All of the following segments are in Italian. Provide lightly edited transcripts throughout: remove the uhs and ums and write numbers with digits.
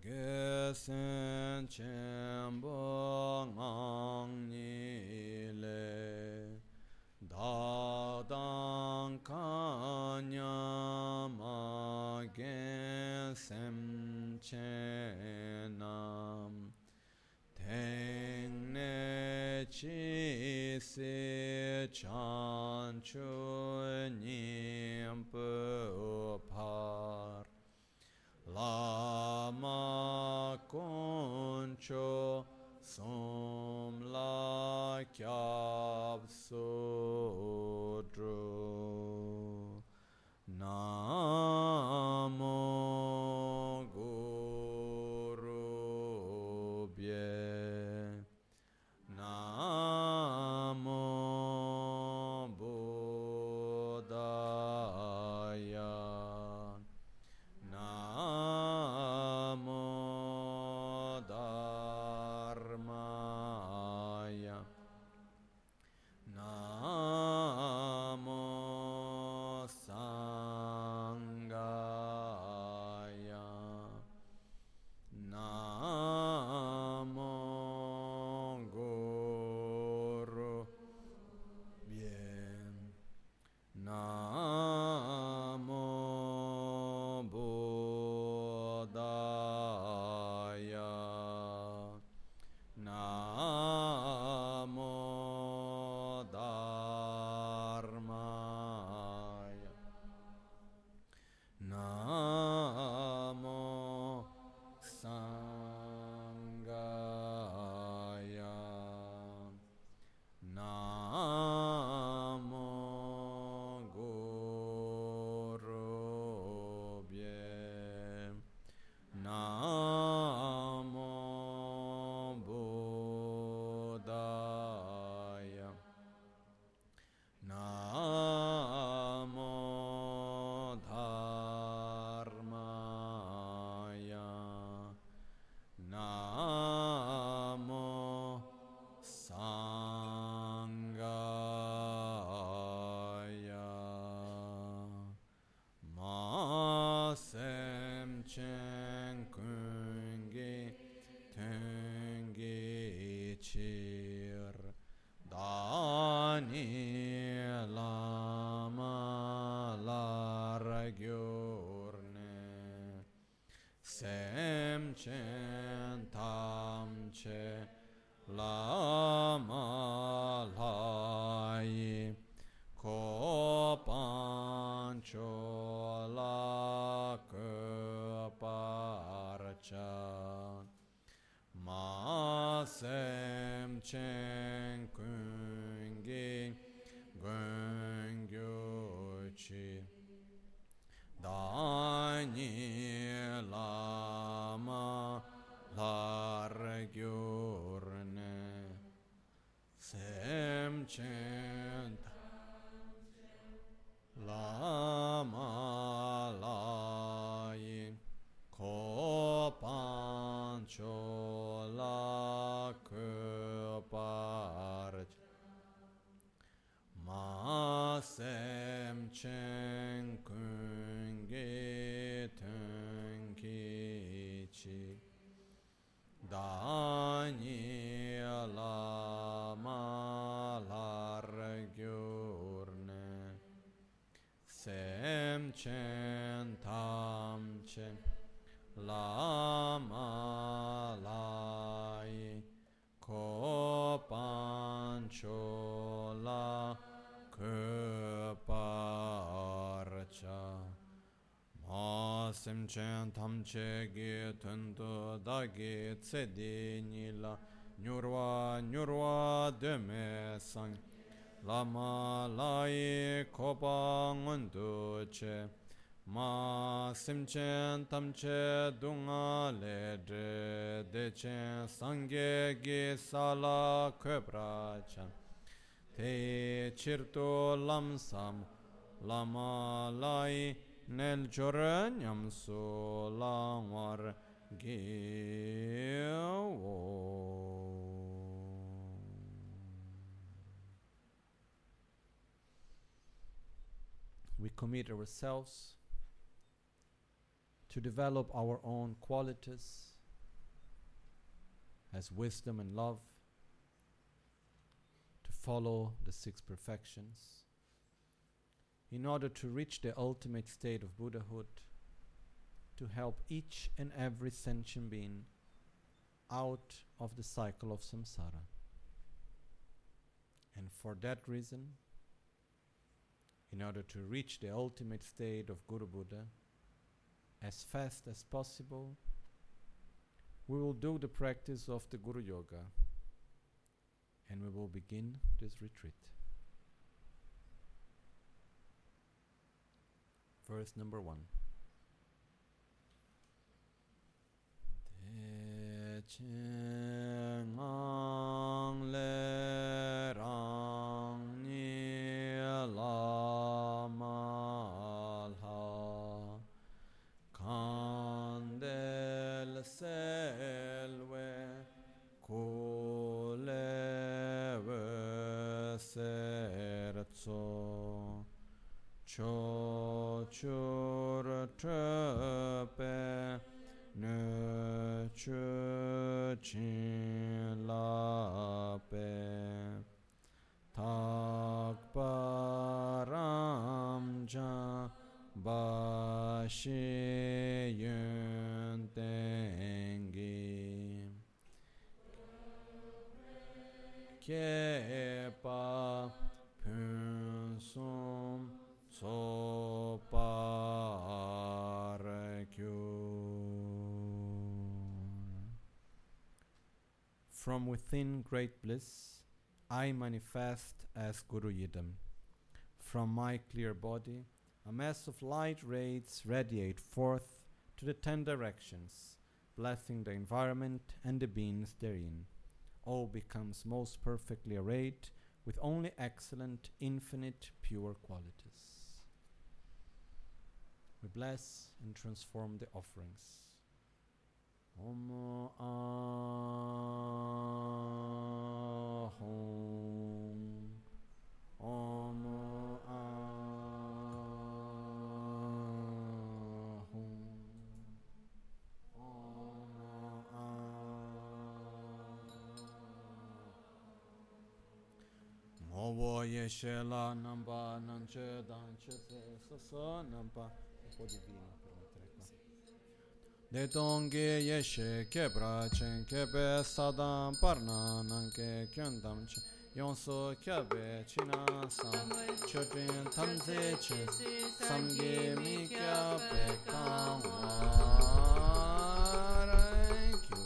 gesen chenpo ngang ni le da dang kanya ma gesen chenam teng ne chi se chan chu nim pu par Lama concho som la kyab sudro Namo Guru Bye Namo Buddhaya Namo Dharmaya Namo Sanghaya Namo Guru Bye Namo Buddhaya Namo Dharmaya Namo Sanghaya Namo Guru Bye Namo Buddhaya Namo Dharmaya Namo Sanghaya Ma sem chen kungi tengi chir Dani lama largyurne Sem chen tam che lama lai Ko pancho la ke parcha Ma sem chen kungi gungyu chi Dani lama largyurne Sem chen Lama lai Ko pancho la ke parcha Ma sem chen kungi tenki chi Dani lama largyurne Sem chen tam chen lama lai Ko pancho la ke parcha Ma sem chen tam che ge tendo da ge tse de ni la nyurwa de me sang Lama lai ko pa ngondu che Ma sem chen tam che dunga le dre de chen sangye ge sala ke pracha Te cirto lam sam lama lai nel giorniam so lamar gewo We commit ourselves to develop our own qualities has wisdom and love, to follow the 6 perfections, in order to reach the ultimate state of Buddhahood, to help each and every sentient being out of the cycle of samsara. And for that reason, in order to reach the ultimate state of Guru Buddha as fast as possible, we will do the practice of the Guru Yoga, and we will begin this retreat. Verse number 1. Ngang le rang ni la ma la kandel selwe kule ve serzo cho chur trepe ne chu chin la pe tak param ja ba shi yun tengi ke pa pun sum so par kyu. From within great bliss, I manifest as Guru Yidam. From my clear body, a mass of light rays radiate forth to the 10 directions, blessing the environment and the beings therein. All becomes most perfectly arrayed with only excellent, infinite, pure qualities. We bless and transform the offerings. Om Ahum. Om Ahum. Om Ahum. Movo Yeshe La Namba Nanche Danche Sasa Namba. Un po' divino per mettere qua. De Tongge Yeshe Kebra Chen Kebe Sadam Parna Nanke Kyondam Chen Yonso Kyabe China Sam Chöpin Tamze Che Samge Mikya Pekawaraikyu.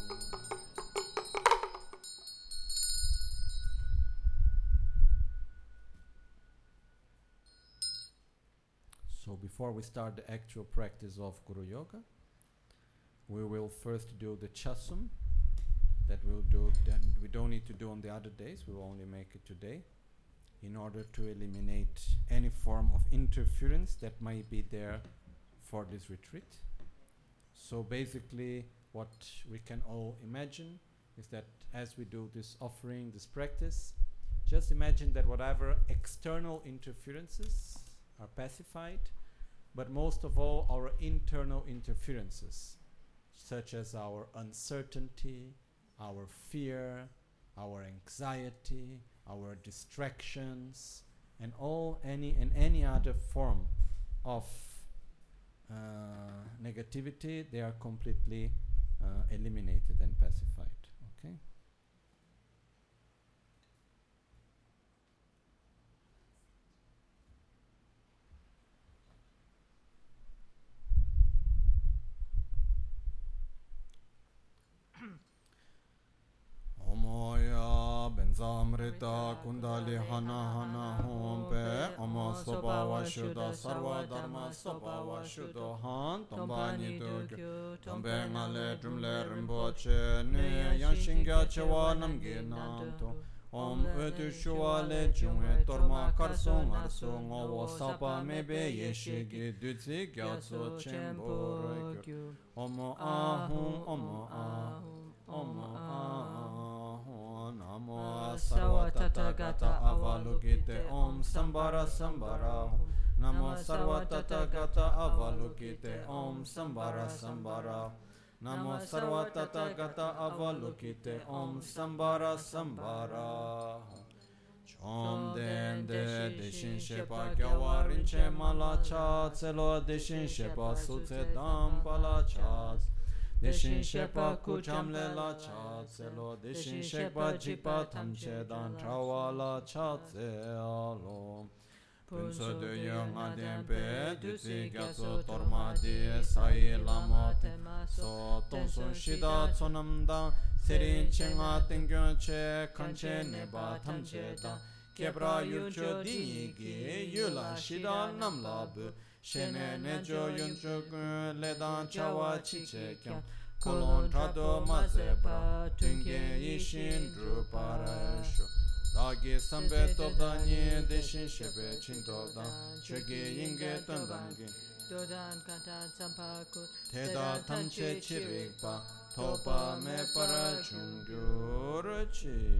So before we start the actual practice of Guru Yoga, we will first do the chasum that we'll do, that we don't need to do on the other days, we will only make it today, in order to eliminate any form of interference that might be there for this retreat. So basically what we can all imagine is that as we do this offering, this practice, just imagine that whatever external interferences are pacified, but most of all our internal interferences, such as our uncertainty, our fear, our anxiety, our distractions, and any other form of negativity, they are completely eliminated and pacified. Okay. Omoya benzamrita kundali hana hana hompe omo sopa washuda sarva dharma sopa washudo han tombani dogyo tombe ngale drumle rimboche ne yanshingya chewa namgi namto om ötu shuale jungwe torma karsong arsong owo sapa mebe yeshigi dutsi gyatso chemboro kyo omo ahum omo ahum omo ahum Namo Sarva Tathagata Avalokite Om Sambara Sambara Namo Sarva Tathagata Avalokite Om Sambara Sambara Namo Sarva Tathagata Avalokite Om Sambara Sambara Chom Den De Deshin Shepa Gyawa Rinche Mala Cha Tselo Deshin Shepa Sutse Dam Pala Cha Deshin Shepa Kucham Lela Cha Tselo Deshin Shepa Jikpa Tamche Dan Trawala Cha Tse Alo Punso de Yang Adempe Dusi Gyatso Torma Di Sai Lama So Tonsun Shida Tsonamda Serin Chenga Tengyon Che Kanche Neba Tamche Da Kebra Yulcho Dinigi Yula Shida Namlabu Shene Nejo Yuncho Ledan Chawa Chiche Kyam Kolon Trado Mazebra Tunge Yishin Druparasho Dagi Sambe Tobdani Deshin Shebe Chintobdan Chege Yinge Tandangi Dodan Katan Sampaku Teda Tamche Chirikpa Topa Me Para Chungyurachi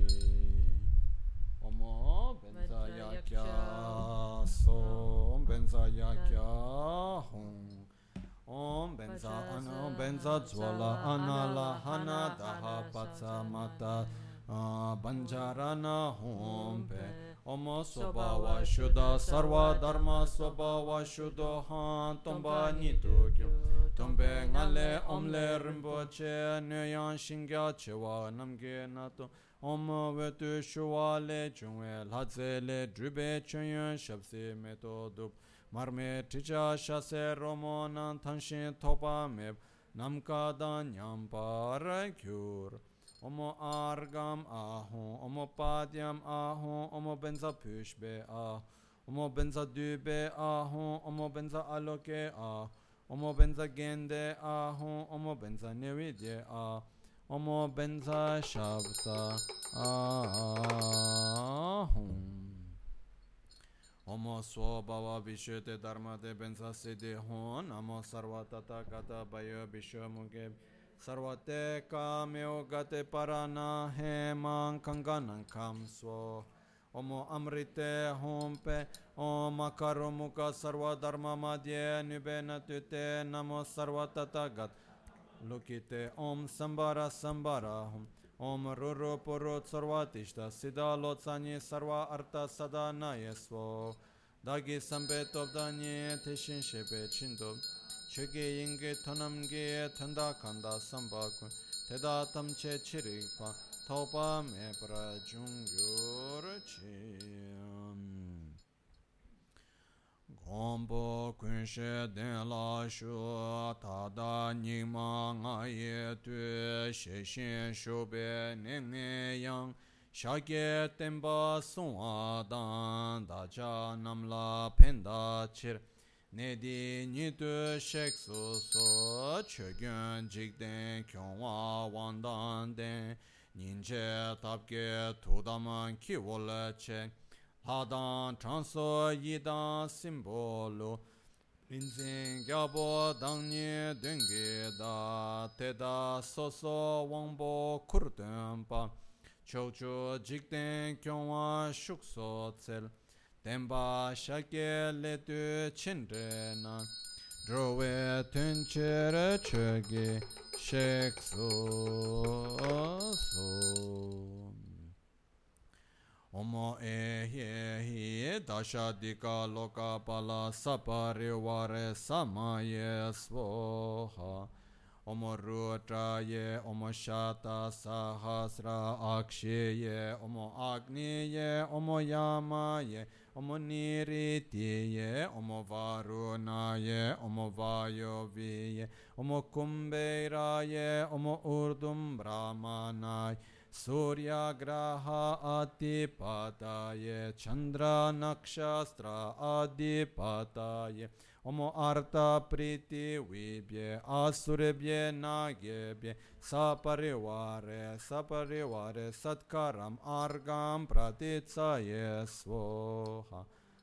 Omo Benza Yakya Som Benza Yakya Hong Om Benza Ana Benza Zwala Anala Hana Daha Patsa Mata Banjarana Hompe Omo Swabhava Shuddha Sarva Dharma Swabhava Shuddha Han Tomba Nitokyo Tombe Ngale Omle Rinpoche Nyoyan Shingya Chewa Namge Nato Om Vetu Shuwa Le Chungwe Ladze Le Drube Chunyon Shabsi Meto Dup Marme Ticha Shase Romonan Tanshin Topa Meb Namka Danyam Parakyur Omo Argam Ahon, Omo Padyam Ahon, Omo Benza Pushbe Ah, Omo Benza Dube Ahon, Omo Benza Aloke Ah, Omo Benza Gende Ahon, Omo Benza Nevidye Ah, Omo Benza Shabta Ahon. Omo Swabhava Vishwete Dharma De Benza Siddhi Hon, Namo Sarva Tathagata Bayo Vishwamuge Sarvate Kameo Gate Parana Hemang Kanganan Kamswo Omo Amrite Hompe Om Akaromuka Sarva Dharma Madhye Nubena Tute Namo Sarva Tathagat Lokite Om Sambara Sambara Om Ruru Puru Sarvatishta Siddha Lotsani Sarva Arta Sadana Yeswo Dagi Sambeto Danye Teshin Shepe Chindob Chöge Yinge Tonamge Tanda Kanda Sambakun Teda Tamche Chirikpa Topa Mepra Jungyur Chiyam Gombo Kunshe Den La Shu Tada Nima Ngaye Tu Sheshin Shube Nenge Yang Shage Temba Sunwa Dan Dacha Namla Penda Chir Nedi Nitu Sheksu So Chögyön Jikden Kyongwa Wandan Den Ninche Tapke Tudaman Kiwola Che Ladan Transo Yidan Simbolo Rinzin Gyabo Dangni Dungi Da Teda Soso Wangbo Kurdenpa Chocho Jikden Kyongwa Shukso Tsel Temba Shake Letu Chindrena Drowe Tunchere Chögi Shekso So Omo Ehe Dasha Dika Loka Pala Sapariware Samaye Svoha Omo Rudraye Omo Shata Sahasra Aksheye Omo Agniye Omo Yamaye Omo Niritiye Omo Varunaye Omo Vayoviye Omo Kumberaye Omo Urdum Brahmanaye Surya Graha Adipataye Chandra Nakshastra Adipataye Omo Arta Priti Vibye Asurebye Nagyebye Saparivare Satkaram Argam Pratitsaye Svoha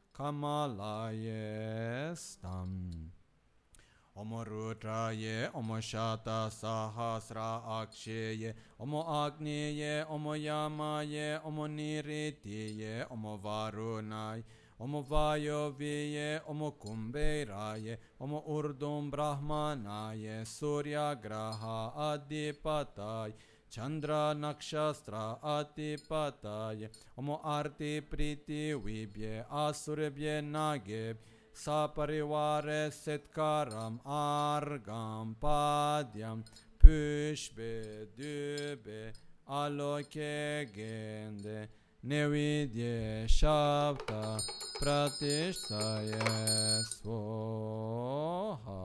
Kamalaye Stam Omo Rudraye, Omo Shata Sahasra Aksheye, Omo Agniye, Omo Yamaye, Omo Niritiye, Omo Varunaye, Omo Vayo Viye, Omo Kumbheraye, Omo Urdum Brahmanaye, Surya Graha Adipataye, Chandra Nakshastra Adipataye, Omo Arti Priti Vibhye, Asurbhye Nageb, Saparivare Setkaram Argam Padyam, Pushbe Dube, Aloke Gende, Nevidye Shabda Pratishtaye Svoha.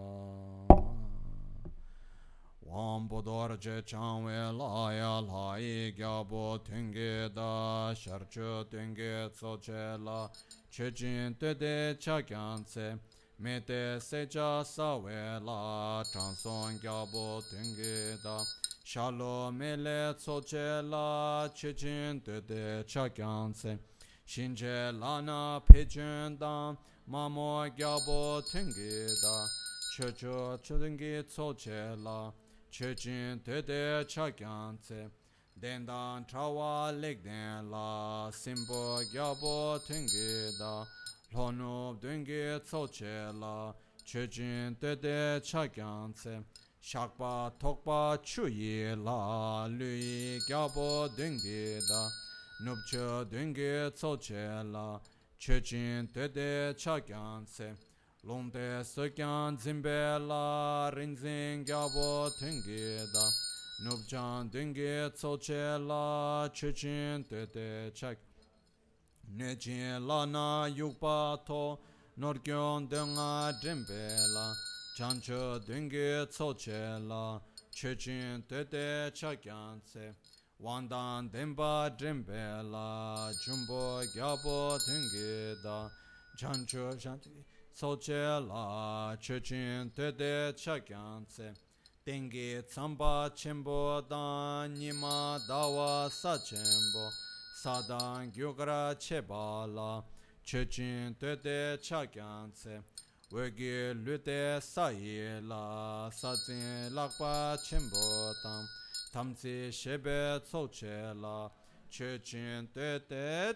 Wambodorje Chanwe Laya Lai Gyabo Tunge Da Sharchu Tunge Tsochela Chejin Tede Chagyanse Mete Seja Sawela Chanson Gyabo Tunge Da Shalom Mele Tsochela Chejin Tede Chagyanse Shinje Lana Pejun Da Mamo Gyabo Tunge Da Checho Chudungi Tsochela Chechin Tede Chagyanse Dendan Trawa Legden La Simbo Gyabo Tungida Lono Dungi Tsochela Chechin Tede Chagyanse Shakpa Tokpa Chuyi La Lui Gyabo Dungida Nupcho Dungi Tsochela Chechin Tede Chagyanse Longde Sokyan Zimbela Rinzing Gyabo Tungida Nubjan Dungi Tsochela Chechin Tete Chak Nechin Lana Yukpa To Norgyon Dunga Drimbela Chancho Dungi Tsochela Chechin Tete Chakyanse Wandan Demba Drimbela Jumbo Gyabo Tungida Chancho Shanti Tsochela Chechin Tede Chagyanse Tengi Tsamba Chimbo Dan Nima Dawa Sachembo Sadan Gyugra Chebala Chechin Tede Chagyanse Wegi Lute Sayela Sazin Lakpa Chimbo Tam Tamsi Shebe Tsochela Chechin Tede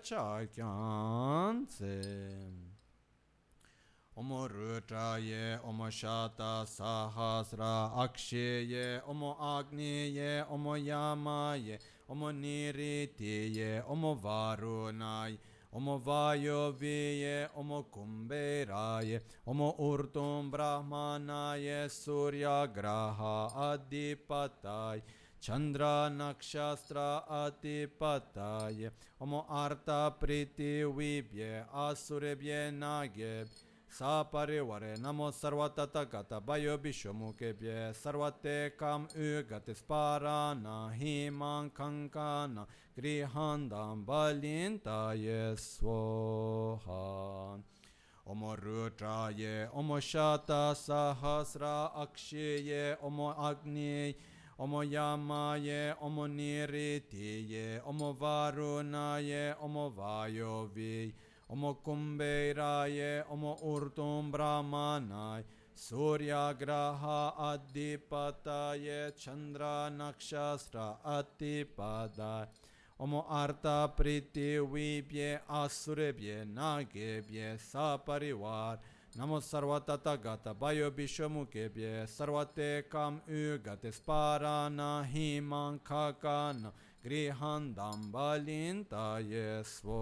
Chagyanse Omo Rudraye, Omo Shata Sahasra Aksheye, Omo Agniye, Omo Yamaye, Omo Niritiye, Omo Varunaye, Omo Vayoviye, Omo Kumbheraye, Omo Urdum Brahmanaye, Surya Graha Adipataye, Chandra Nakshastra Adipataye, Omo Arta Priti Vibhye, Asurbhye Nageb, Saparivare Namo Sarvatata Gata Bayo Bishomukebye Sarvate Kam Ugatis Parana Himan Kankana Grihandam Balintaye Svoha Omo Rudraye Omo Shata Sahasra Aksheye Omo Agni Omo Yamaye Omo Niritiye Omo Varunaye Omo Vayovi Omo Kumbheraye, Omo Urdum Brahmanaye, Surya Graha Adipataye, Chandra Nakshastra Adipadaye, Omo Arta Priti Vibhye, Asurbhye Nagebhye, Saparivar, Namo Sarvatata Gata Bayo Bishomukebhye, Sarvate Kam Ugatis Parana Himan Kakana, Grihandam Balintaye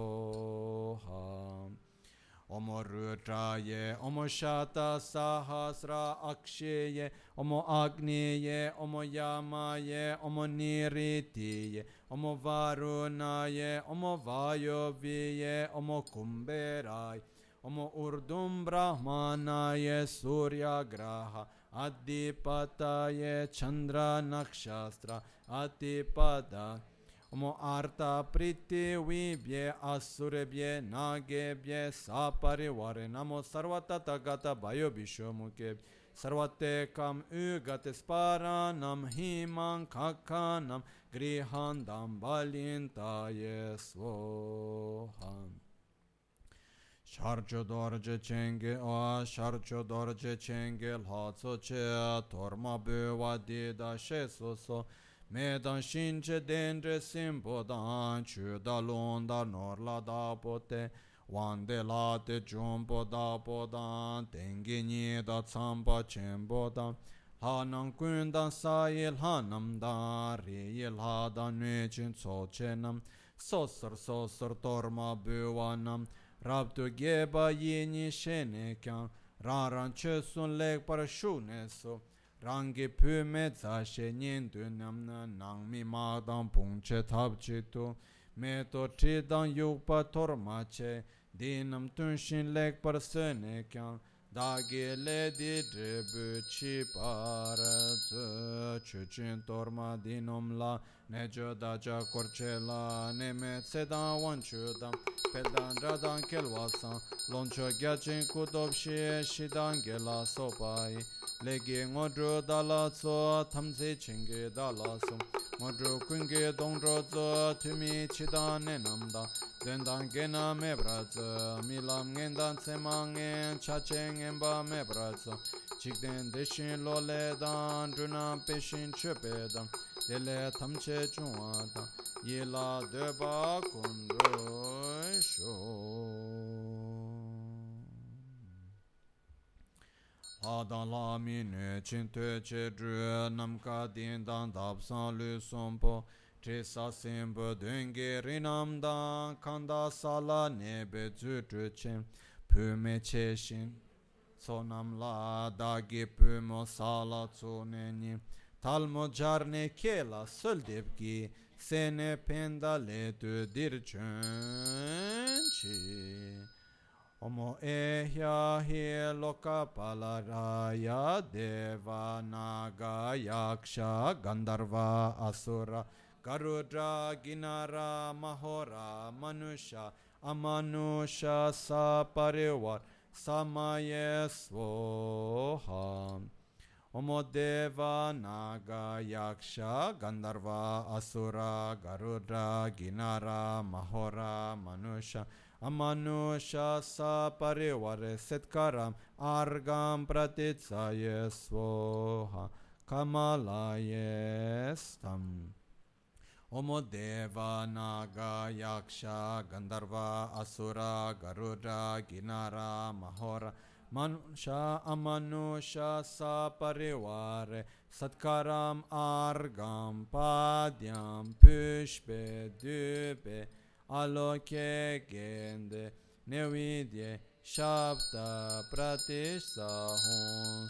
Svoha Omo Rudraye, Omo Shata Sahasra Aksheye, Omo Agniye, Omo Yamaye, Omo Niritiye, Omo Varunaye, Omo Vayoviye, Omo Kumbheraye, Omo Urdum Brahmanaye, Surya Graha Adipataye, Chandra Nakshastra Adipadaye, Omo Arta Priti Vibhye Asurbhye Nagebhye Saparivare Namo Sarvatata Gata Bayo Bishomukebhye Sarvate Kam Ugatis Paranam Himan Kakanam Grihandam Balintaye Svoham Sharcho Dorje Chenge O Sharcho Dorje Chenge Lhatso Che Torma Böva Dida Shesuso Medan Shinche Dendre Simpodan Chuda Londa Norla Da Pote wande la te jumbo da bodan tengi ni da tsamba chenbo da hanang kun dan sa il hanam da ri il ha da nue chin so chenam sosar torma buwanam rabdu geba yini shene kyan ran che sun lek par shu ne so rangi pyu me za she nyen du nam na nang mi ma dang pung che tab chi tu me to tri dang yuk pa torma che dinam tun shin lek par se ne kyan da ge le di dribu chi par zu chu chin torma dinom la ne jo da ja korche la ne me se da wan chu dam pel dan ra dan kel wasan lon cho gya chin ku dob shi shi dan ge la so pai le ge ngodro da la so tham se ching ge da la so ngodro kun ge dong ro zo tu mi chi da ne nam da den dan ge na me bra zo mi lam ngen dan se ma ngen cha cheng en ba me bra zo chik den de shin lo le dan dru na pe shin che pe dan de le tham che chung wa da ye la de ba kun ro sho Adan la mi ne chin te che dru nam ka din dan dap san lu som po tre sa sim bo dengue rinam dan kanda sala ne be zu tru chen pu me che shin so nam la da gi pu mo sala tsu ne ni tal mo jar ne ke la sol deb gi se ne penda le tu dir chen chi Omo ehya hi loka palaraya deva naga yaksha gandharva asura garudra ginara mahora manusha amanusha saparivar samaye svoha Omo deva naga yaksha gandharva asura garudra ginara mahora manusha Amanusha sa parivare setkaram argam pratitsaye svoha kamalaye stam Omo deva naga yaksha gandharva asura garuda ginara mahora manusha amanusha sa parivare satkaram argam padyam pushpe dupe aloke gende nevidye shabda pratishtha hon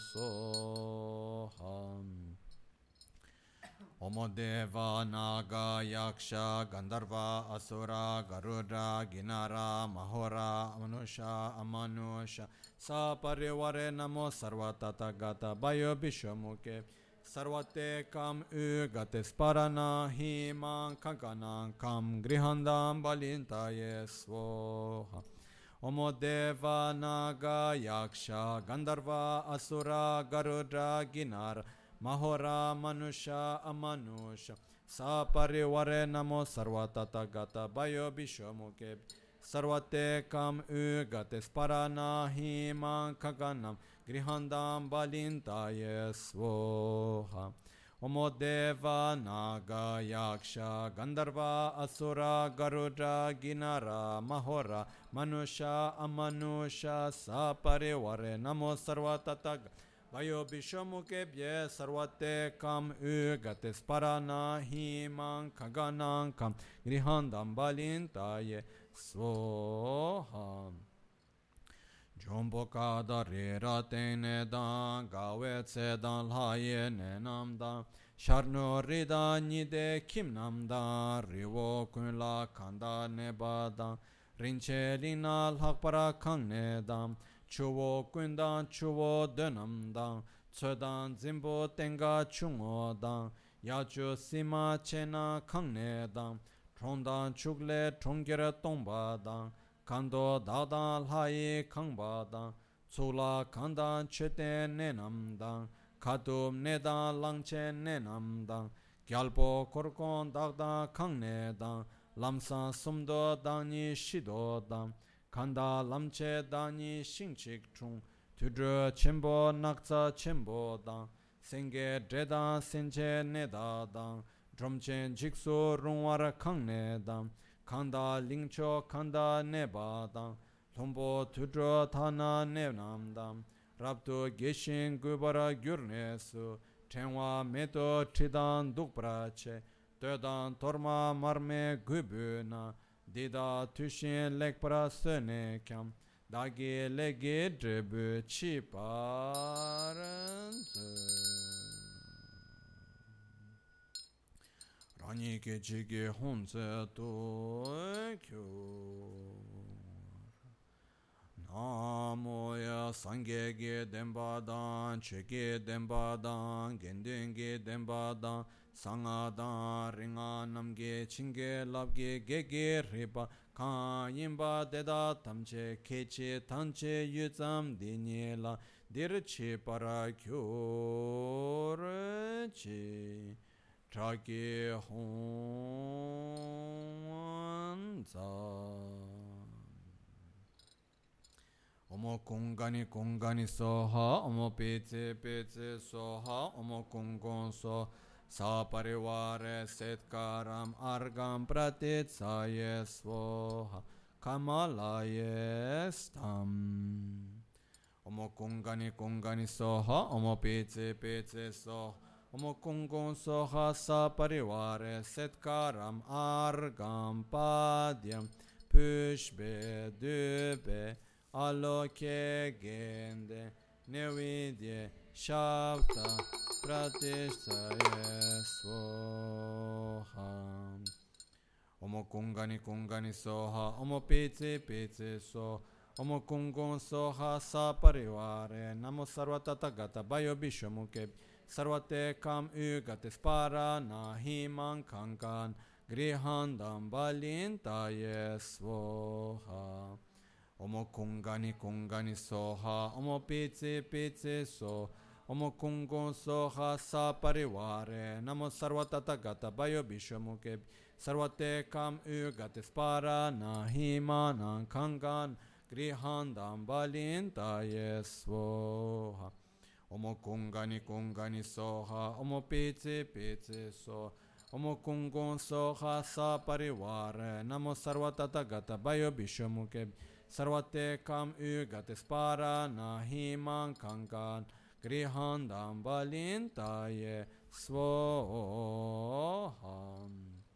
soham Omo deva naga yaksha gandharva asura garuda ginara mahora manusha amanusha sa parivare namo sarvatata gata bayo bishomuke Sarvate kam ugate sparana himang kankanang kam grihandam balintaye svoha Omo deva naga yaksha gandharva asura garuda ginar mahora manusha amanusha sa parivare namo sarvatata gata bayo bishomuke Sarvate kam ugate sparana himang kankanam Grihandam balintaye svoha Omo deva naga yaksha gandharva asura garuda ginara mahora manusha amanusha sa parivare namo sarvatata vayo bishamukebhye sarvate kam ugate sparana himang kaganang kam grihandam balintaye svoha Jumbo kada re ra tene dan gawe tse dan laye ne nam dan sharno rida nide kim nam dan rivo kun la kanda ne ba dan rinche lina lhak para kang ne dan chuvo kun dan chuvo denam dan tse dan zimbo tenga chungo dan yachu sima chena kang ne dan trong dan chukle chonggere tongba dan Kando dadan lai kangbadan, tsula kandan chete nenamdan, katum nedan langche nenamdan, gyalpo korkon dagdan kang nedan, lamsan sumdo dani shido dan, kanda lamche dani shingchik chung, tudru chenpo nakza chenpo dan, senge dredan senche nedadan, dromchen jiksu rungwar kang nedan, Kanda lingcho kanda nebadang Thombo Tudro Thana Nevnamdam Rapto Geshin Gubara Gyurnesu Tenwa Meto Tridan Dukprache Tödan Torma Marme Gubuna Dida Tushin Lekpara Sene Kyam Dagi Legi Dribu Chiparanzu Rani ke chige honse to kyo Namo ya sangye ge demba dan chege demba dan gendenge demba dan sanga dan ringa namge chinge labge gege riba kan yimba deda tamche keche tanche yuzam dinye la dirche para kyo reche Traki Honza Omo Kungani Soha Omo Pece Soha Omo Kungon So Sa Parivare Setkaram Argam Pratit Saye Svoha Kamalaye Stam Omo Kungani Soha Omo Pece Soha Omo Kungon Soha Sa Parivare Setkaram Argam Padyam Pushbe Dube Aloke Gende Nevidye Shavta Pratishthaye Svoha Omo Kungani Soha Omo Pece So Omo Kungon Soha Sa Parivare Namo Sarvatatagata Bayo Bishomuke Sarvate kam ugate spara nahiman kankan grihandam balintaye svoha Omo Kungani Soha Omo Pece So Omo Kungon Soha Sa Parivare Namo Sarvatatagata Bayo Bishomuke Sarvate kam ugate spara nahiman kankan grihandam balintaye svoha Omo Kungani Soha Omo Pece So Omo Kungon Soha Sa Parivare Namo Sarvatatagata Bayo Bishomuke Sarvate kam ugate spara nahiman kankan grihandam balintaye svoha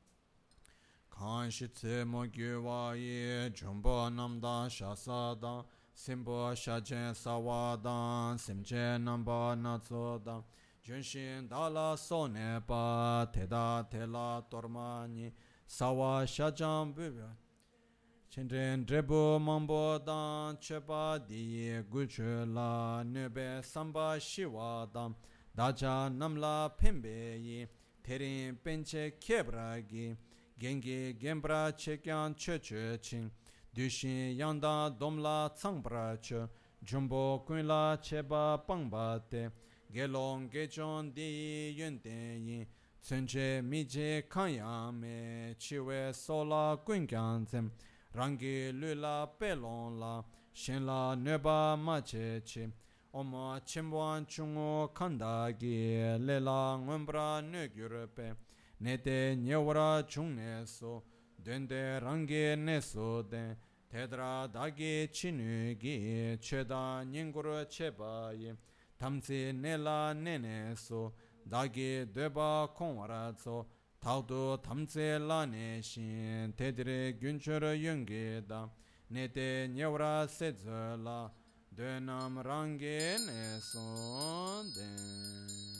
Kanshitse mo gyuwaye jumbo namda shasada Simbo shajen sawadan simche namba natsodan Junshin dala sonepa teda tela tormani Sawa shajan bubya Chendren drebu mambo dan chepa diye gulchula nube samba shiwadan Daja namla pimbeyi terin penche kebragi Gengi gembra chekyan cheche ching Dushin yanda domla tsangpra che Jumbo kunla cheba pangba te Gelong gechon di yun ten yin Tsunche mije kanyame Chiwe sola kunkyan zem Rangi lula pelon la Shenla neba mache che Oma chimbuan chungo kandagi Lela ngumbra nugyurupe Nete nyewara chungne so Dende rangi neso den Tedra dagi chinugi Cheda nyinguru chebayi Tamsi nela nene so Dagi deba kongwara so Taudu tamsi lane shin Tedre gyunchur yungi da Nete nyewra sedzula Dönam rangi neso den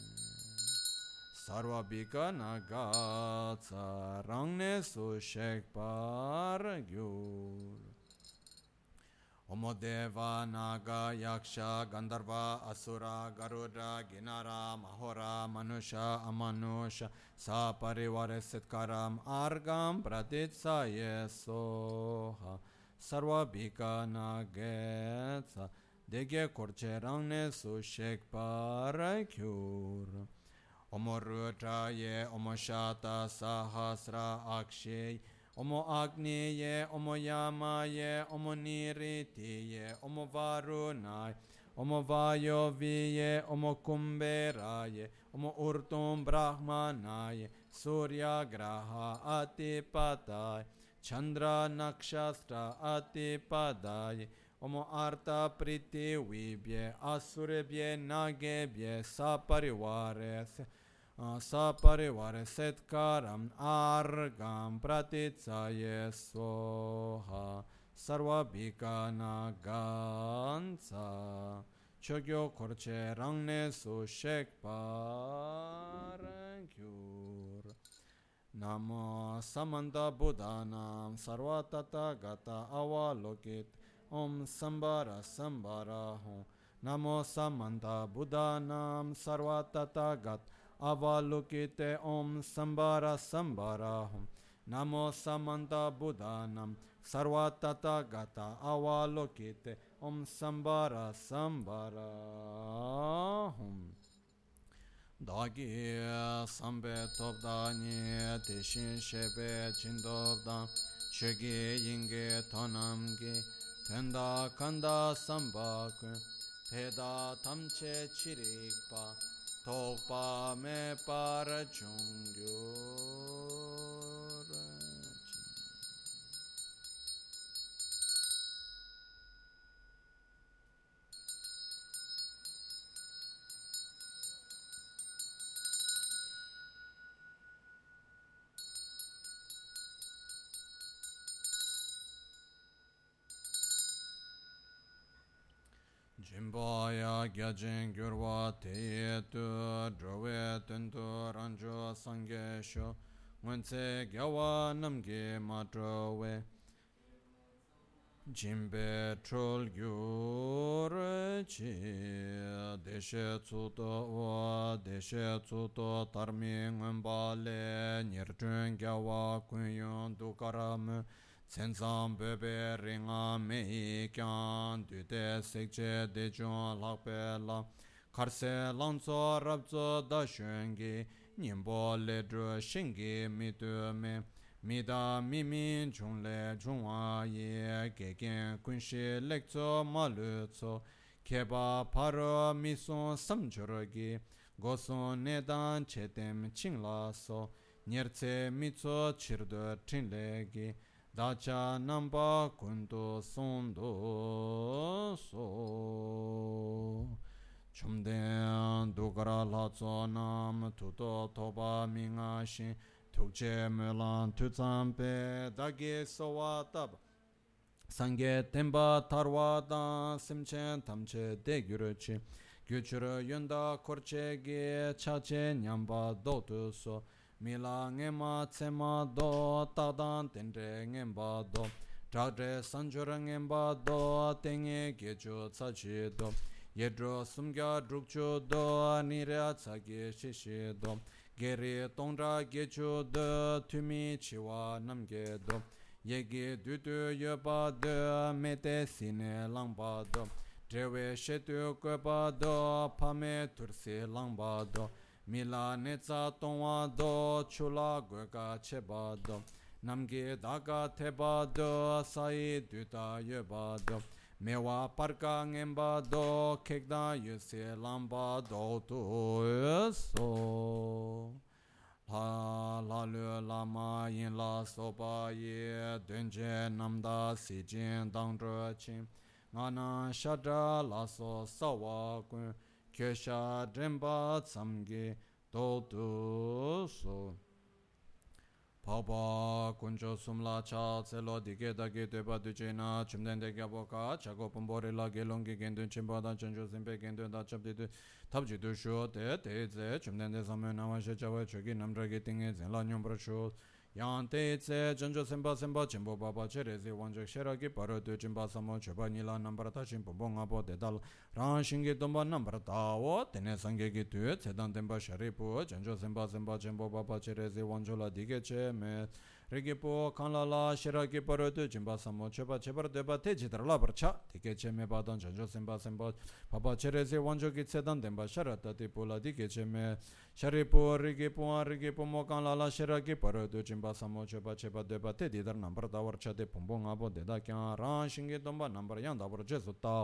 Sarva bika nagatsa rangne su shekpar gyur Omo deva naga yaksha gandharva asura garuda ginara mahora manusha amanusha sa parivare setkaram argam pratitsaye soha Sarva bika nagatsa dege korche rangne su shekpar gyur Omo rudraye, omo shata sahasra akshay, omo agniye, omo yamaye, omo niritiye, omo varunay, omo vayoviye, omo kumberaye, omo urtum brahmanaye, surya graha atipatay, Chandra Nakshastra Atipadaye Omo Arta Priti Vibhye Asurebhye Nagebhye Saparivare Saparivare Setkaram Argam Pratitsaye Soha Sarvabhikana Gansa Chogyo Korche Rangne Su Shekparankyur Namo Samanta Buddhanam Sarvatata Gata Avalokit Om Sambara Sambara Hum Namo Samanta Buddhanam Sarvatata Gata Avalokite Om Sambara Sambara Hum Namo Samanta Buddhanam Sarvatata Gata Avalokite Om Sambara Sambara Hum Dagi Sambe Topdani Tishin Shebe Chindobdan Chegi Yinge Tonamgi Tenda Kanda Sambakun Teda Tamche Chirikpa Tokpa Me Para Chungyur Jimbaya Gyajin Gyurwa Teye Tu Drove Tuntu Ranjo Sangye Sho Wense Gyawa Namge Matrowe Jimbe Trol Gyur Chi Deshe Tsuto Wa Deshe Tsuto Tarmi Ngumbale Nirchun Gyawa Kunyon Dukaram Sensam Bebe Ringa Mehi Kyan Dute Sekche Dechon Lakpe La Karse Lanso Rabzo Dashungi Nimbo Ledru Shingi Mitu Me Mida Mimin Chungle Chungwa Ye Gegen Kunshi Lekzo Malutso Keba Paro Mison Samchorogi Goson Nedan Chetem Chingla So Nyertse Mitso Chirdo Chinlegi Dacha Namba Kundu Sondo So Chumden Dugara Latso Nam Tuto Toba Mingashin Tukche Mulan Tutsampe Dagi Sowa Tab Sange Temba Tarwada Simchen Tamche Degyuruchi Gyuchuru Yunda Korchegi Chache Nyamba Dotu So Mila ngema tsema do tadan tenre ngemba do Chagre sanjura ngemba do tenge gecho tsachi do Yedro sumgya drukcho do nirya tsagi shishi do Geri tongra gecho do tumi chiwa namge do Yegi dudu yoba do mete sine langba do Drewe shetu goba do pame tursi langba do Mila netza tongwa do chula gweka cheba do Namge daga teba do sai duta yeba do Mewa parka ngemba do kekda yuse lamba do tu so La lu lama yin la soba ye dunje namda si jin dang zhe qin Ngana shadra la so sawa kun Kyesha Dremba Tsamge Dodu So Paba Kunjo Sumla Cha Tselo Dige Dagi Deba Dujena Chumden de Gaboka Chago Pumbori La Gelongi Gendun Chimba Dan Chanjo Simpe Gendun Da Chabdi Tabji Du Shu Te Te Ze Chumden de Samu Nama She Chawa Chogi Namdra Getinge Zenla Nyumbra Shu Yang Te Tse Chanjo Simba Simba Chimbo Baba Cherezi Wanjak Sheraki Paro Du Chimba Samo Choba Nila Nambrata Chimbo Bonga Bo Dedal Ran Shingi Domba Nambrata O Tene Sange Ki Tu Tsedan Temba Sharipu Chanjo Simba Simba Chimbo Baba Cherezi Wanjola Dige Che Me Rigipo Kanlala Shiraki Paro Du Chimba Samo Choba Chebar Deba Teji Drala Barcha Dige Che Me Badan Chanjo Simba Simba Baba Cherezi Wanjoki Tsedan Temba Sharata Tipula Dige Che Me Sharipu Rigipo Mo Kanlala Shiraki Paro Du Chimba Samo Choba Cheba Deba Tedi Dar Nambar Dawar Chade Pumbong Abo Deda Kyan Ran Shingi Domba Nambar Yang Dabar Jesu Tao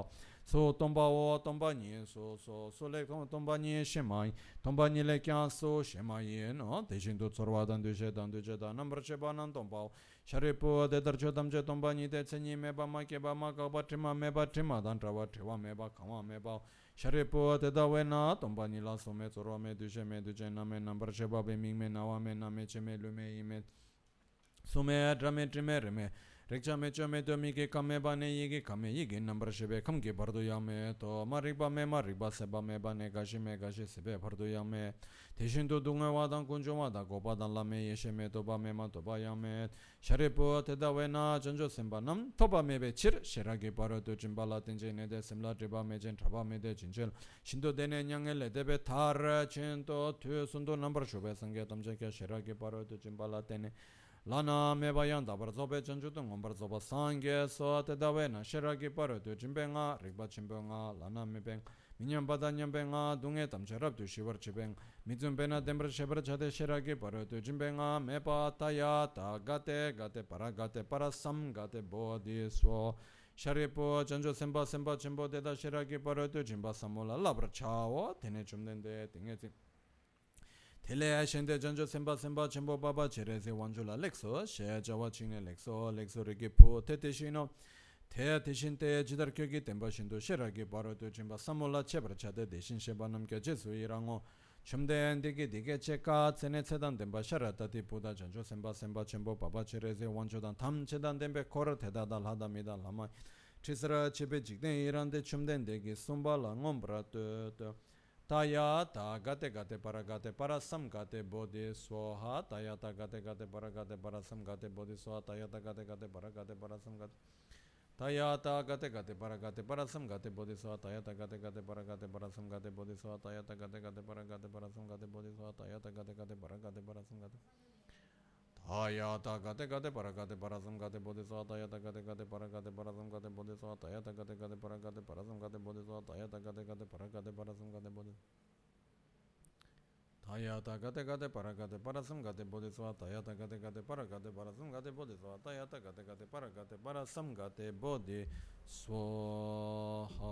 so tomba o tomba ni so so le tomba ni shemai tomba ni le kya so shemai no deshin do tsorwa dan de je da number che ba nan tomba sharipo de dar chodam je tomba ni de tseni me ba ma ke ba ma ka ba trima me ba trima dan trawa trewa me ba kama me ba sharipo de da we na tomba ni la so me tsorwa me de je na me number che ba be ming me na wa me na me che me lu me i me so me drame trime me rekcha me cho me to mi ke kame ba ne ye ke kame ye ke number shebe kam ke bardo ya me to mariba se ba me ba ne gashi sebe bardo ya me deshin to dunga wa dan kunjo wa da go ba dan la me ye she me to ba me ma to ba ya me sharepo te da we na janjo semba nam to ba me be chir shera ke baro to jimba la tenje ne de semla de ba me jen traba me de jinjel shindo de ne nyang le de be thar chen to tu sundo number shobe sange tam je ke shera ke baro to jimba la tene Lana me bayan da barzobe janju tung barzoba sange so te dawena shiragi paro tu jimbenga rigba chimbenga lana me beng minyam bada nyambenga dunge tam cherab tu shivar chibeng mizum bena dembra shebar chade shiragi paro tu jimbenga me pa taya ta gate para sam gate bodhi so sharipo janju semba chimbo de da shiragi paro tu jimba samola labra chao tene chumdende tinge Tele shende janjo semba chembo baba chereze wanjula lexo she jawa chine lexo rege po tete shino te teshin te jidar kyogi temba shindo sheragi baro to jimba samola chebra chade deshin sheba namke jesu irango chumde ndege dige cheka tsene tsedan temba sharata ti puda janjo semba chembo baba chereze wanjodan tam chedan tembe kor teda dal hada mida lama chisra chebe jigden irande chumde ndege sumba la ngombra to Taya ta gate para sam gate bodhi swaha taya ta gate para sam gate bodhi swaha taya ta gate para sam gate taya ta gate para sam gate bodhi swaha taya ta gate para sam gate bodhi swaha taya ta gate para sam gate bodhi swaha taya ta gate para sam gate Taya ta gate para sam gate bodhi swaha taya ta gate para sam gate bodhi swaha taya ta gate para sam gate bodhi swaha taya ta gate para sam gate bodhi Taya ta gate para sam gate bodhi swaha taya ta gate para sam gate bodhi swaha taya ta gate para sam gate bodhi swaha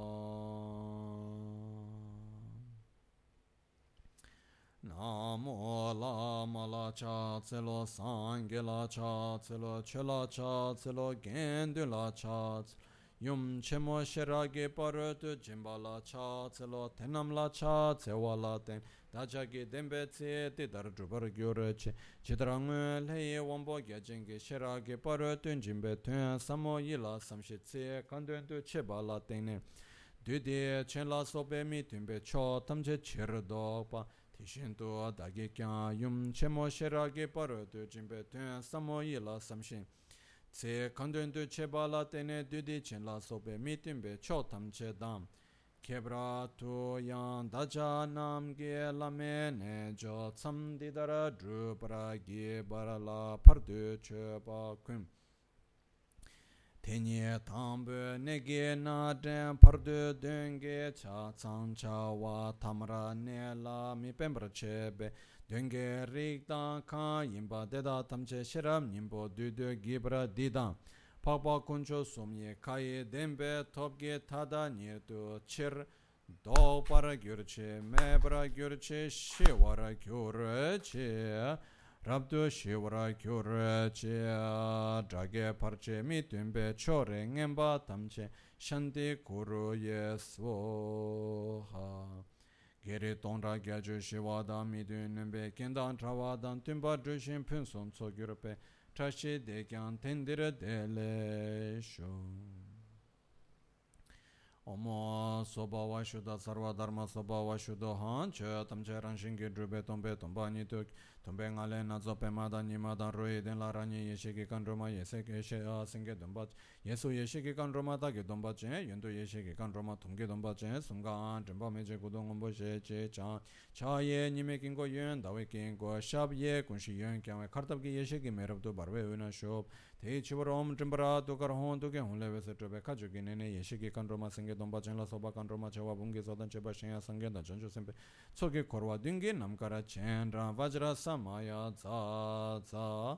Namo lama la cha tselo sangye la cha tselo che la cha tselo gendu la cha tselo Yum chemo sherage paratu jimba la cha tselo tenam la cha tsewa la ten Dajagi dembe tse te dar drubar gyore che Chidrang leye wambo gyajenge sherage paratu jimbe tuen samo yila samshi tse kanduen tu cheba la tenne Dudi chen la sobe mi tunbe cho tamche chirdo pa Tishinto dagi kya yum chemo sherage paratu jimbe tuen samo yila samshin Tse kandun tu cheba la tene dudi chen la sobe mitimbe cho tam che dam. Kebra tu yang daja nam ge lame ne jo tsam didara drupara ge bara la pardu cheba kum. Tenye tambu nege na den pardu denge cha tsang cha wa tamra ne la mi pembra chebe. Denge rik dan kan yinba deda tamche shiram nimbo dudu gibra didan. Pakpa kuncho sumye kaye dembe topge tada nirdu chir. Do para gyurche, mebra gyurche, shiwara gyurche. Rabdu shiwara gyurche. Drage parche mitunbe chore ngemba tamche. Shanti kuru yeswoha. Geri tonra gyaju shivada midun be kendan travadan tumba drushin punson so gyurpe trashi dekyan tendire dele sho Omo soba wa shuda sarva dharma soba wa shudo han che tamche ranshin gi drube tombe tomba ni tuk tombe ngale na zope mada ni mada roi den la rani yeshe ki kan roma yese ke she a singe domba yesu yeshe ki kan roma da ge domba che yendo yeshe ki kan roma tumge domba che sunga jemba meje gudong ombo she che cha cha ye ni me kin go yen da we kin go shab ye kun shi yen kya me khartab ki yeshe ki merab to barwe una shop te chivarom jembra to kar hon to ke hon le se trobe kha ju ki ne yeshe ki kan roma singe domba chen la soba kan roma chewa bunge sodan cheba shen ya sange da janjo sempe soke korwa dinge namkara chen ra vajra samaya za za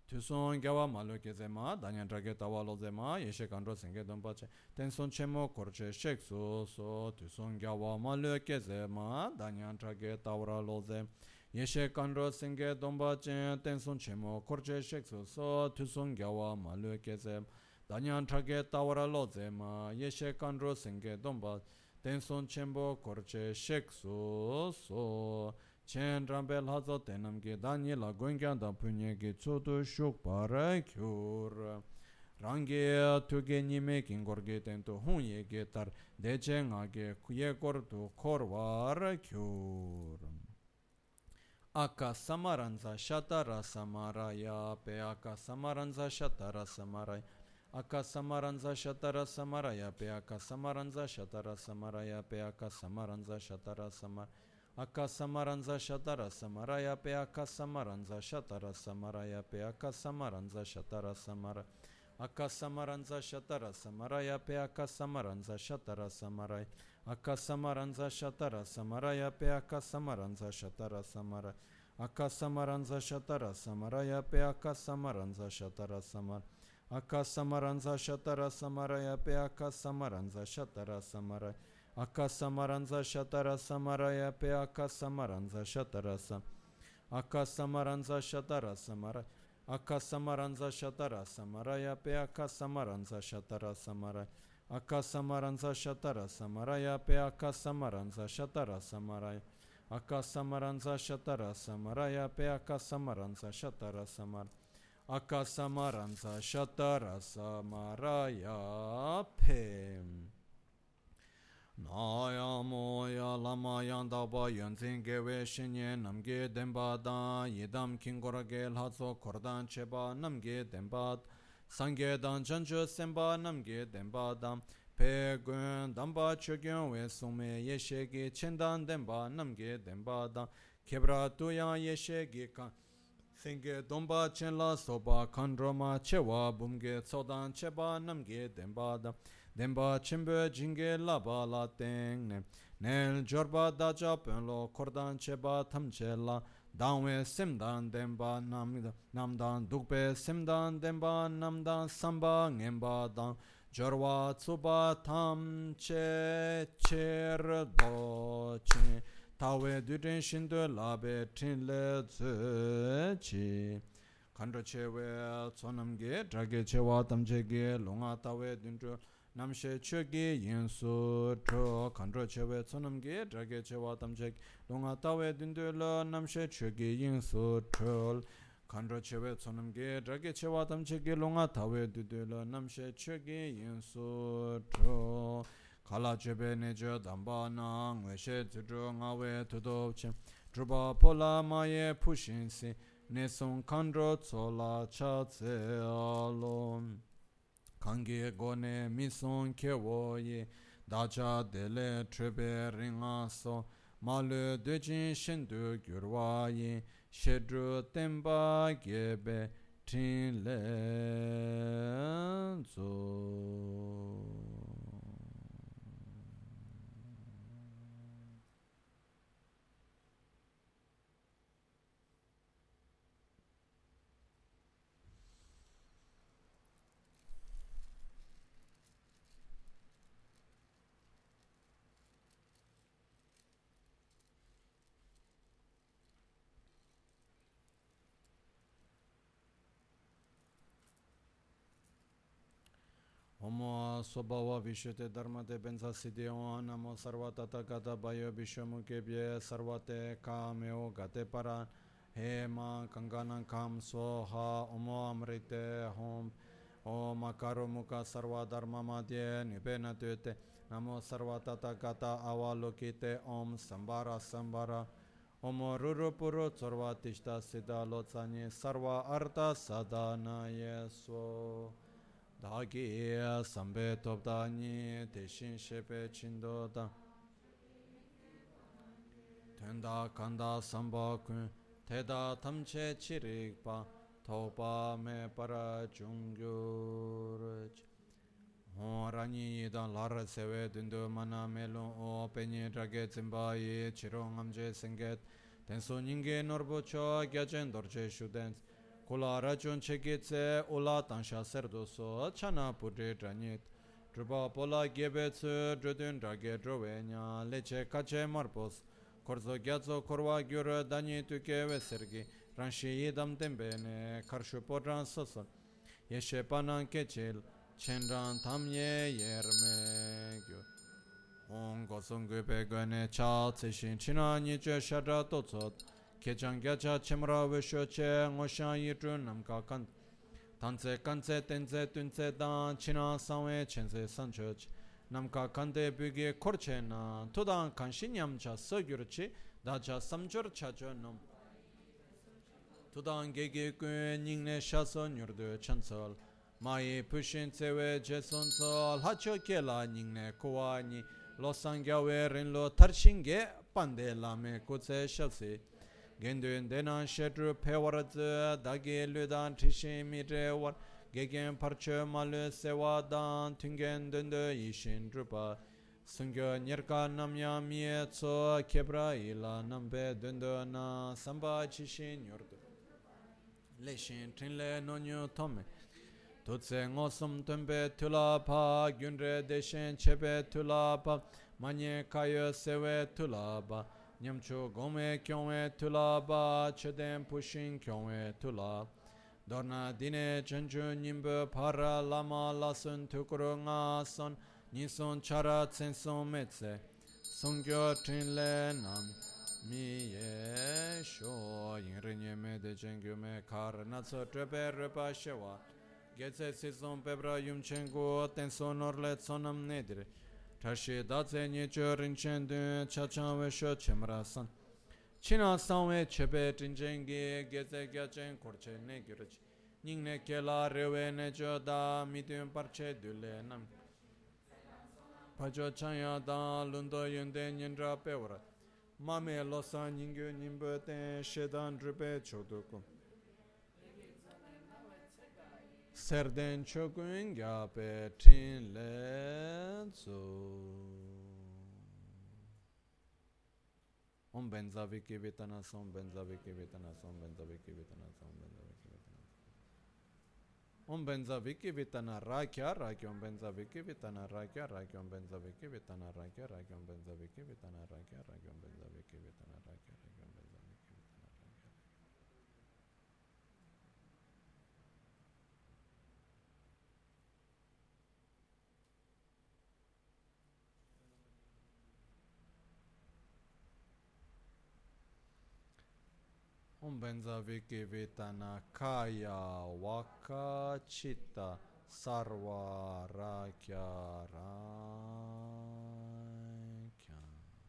Tuson gawa malu kezema, danyan drage tawa lozema, yeshe kandro senge donpache, tenson chemo korche sheksu so, tuson gawa malu kezema, danyan drage tawa loze, yeshe kandro senge donpache, tenson chemo korche sheksu so, tuson gawa malu kezema, danyan drage tawa lozema, yeshe kandro senge donpache, tenson chemo korche sheksu so, chen rambel hazo tenam ge Daniela goingyan da punye ge tsoto shuk para kyur rangi tuge nime kingor ge tento hunye ge tar deche nga ge kuye kor tu korwar kyur aka samaranza shatara samaraya pe aka samaranza shatara samaraya aka samaranza shatara samaraya pe aka samaranza shatara samaraya pe aka samaranza shatara samaraya Akka samaranza shatara samaraya pe akka samaranza shatara samaraya pe akka samaranza shatara samara akka samaranza shatara samaraya pe akka samaranza shatara samaraya akka samaranza shatara samaraya pe akka samaranza shatara samara akka samaranza shatara samaraya pe akka samaranza shatara samara akka samaranza shatara samaraya pe akka samaranza shatara samara Akka samaranza shatara samaraya pe akka samaranza shatara sam akka samaranza shatara samara akka samaranza shatara samaraya pe akka samaranza shatara samara akka samaranza shatara samaraya pe akka samaranza shatara samaraya akka samaranza shatara samaraya pe akka samaranza shatara samara akka samaranza shatara samaraya pe Naya moya lama yanda ba yonzin gewe shinye namge demba da yidam kingora gel hatso kordan cheba namge demba sangye dan janjo semba namge demba dam pe gun damba chogyon we sume yeshegi chendan demba namge demba da kebra tuya yeshegi kan singye domba chenla soba kandroma chewa bumge tsodan cheba namge demba da Demba chimbe jinge laba la teng nel jorba daja penlo kordan cheba tamchela dangwe simdan demba namdan dukpe simdan demba namdan samba ngemba dang jorwa tsuba tamche cher do chi tawe duden shindo labe tinle chi kandra chewe tsonamge drage chewa tamchege longa tawe dundro Namshe chogi yinsu tro kandro chewe tsonamge drage chewa tamchek longa tawe dindula namshe chogi yinsu tro kandro chewe tsonamge drage chewa tamchek longa tawe dindula namshe chogi yinsu tro kala chebe nejo damba nang weshe zidro ngawe tudopche druba pola maye pushinsi nesung kandro tsola cha tse alon Kange gone mison kewo ye dacha dele trebe ringa so malu dejin shindu gyurwa ye shedru temba gebe tin le zo Omo Sobhava Vishute Dharmate Benza Siddhyo Namo Sarvatata Gata Bayo Vishwamukebhye Sarvate Kameo Gate Paran Hema Kanganan Kam Soha Omo Amrite Hom Om Akaro Mukha Sarva Dharma Madhye Nibena Tute Namo Sarvatata Gata Avalokite Om Sambara Sambara Omo Ruru Puru Sarva Tishta Siddha Lotsani Sarva Artha Sadhana Yeso Dagi sambe topdani teshin shepe chindoda tenda kanda samba kun teda tamche chirikpa topa me para chungyur rani dan lar sewe dundu mana melon o penye drage zimbayi chirong amje senget tenso nyinge norbo cho gyachen dorje shudens Kula rachun chekitse ula tansha serdoso chana pudre dranyit. Drupa pola gebetsu drudun drage drovenya leche kache marpos. Korzo gyatso korwa gyur danyi tuke vesergi. Ranshi yidam tembene karshu podran soson. Yeshe panan kechil chenran tamye yerme gyur. Ongo songu pegane cha tsishin china niche shadra totsot. Kechang gyacha chimra visho che ngoshan yitru namka kant. Tanse kanse tense tunse dan china sanwe chense sanchoch. Namka kante bugi korche na tudan kanshinyam cha sogyurchi dacha samchur chacho nam. Tudan gege kuen ningne shaso nyurdu chansol. Mai pushin tsewe jeson sol hacho kela ningne kuwa ni losangyawe rinlo tarshinge pande lame kutse shalsi. Gendun denan shedru pewaradzu dagi ludan tishi mire war gegen parche malu sewa dan tungen dundu yishin drupa. Sungyo nirka namya miye tso kebra ila nambe dundu na samba chishin yurdu. Leshin trinle nonyu tome. Tutse ngosum tumbe tula pa gyunre deshen chebe tula pa manye kayo sewe tula pa. Nyamchu gome kyongwe tula ba chedem pushin kyongwe tula. Dorna dine chanchu nimbu para lama lasun tukuru nga son nison chara tsenson metse. Songyo trinle nam miye sho yinrinye me de chengyu me kar natso trepe repa shewa. Getse sison pebra yumchengu tenson orle tsonam nedire. Tashi datse nyecho rinchen dun chachan vesho chemra san. China sanwe chepe trinjengi geze gyachen korche ne gyurich. Ningne kela rewe necho da midun parche dule nam. Pacho chanya da lundo yunde nyendra pewra. Mame losa nyingyo nyimbo ten shedan drupe chodukum. Serden chokun gyape trin lenzo. Om benza viki vitana som benza viki vitana som benza viki vitana som benza viki vitana. Om benza viki vitana rakya rakya om benza viki vitana rakya rakya om benza viki vitana rakya rakya om benza viki vitana rakya rakya om benza viki vitana rakya rakya om benza viki vitana rakya. Om benza viki vitana kaya waka chitta sarva rakya rakya.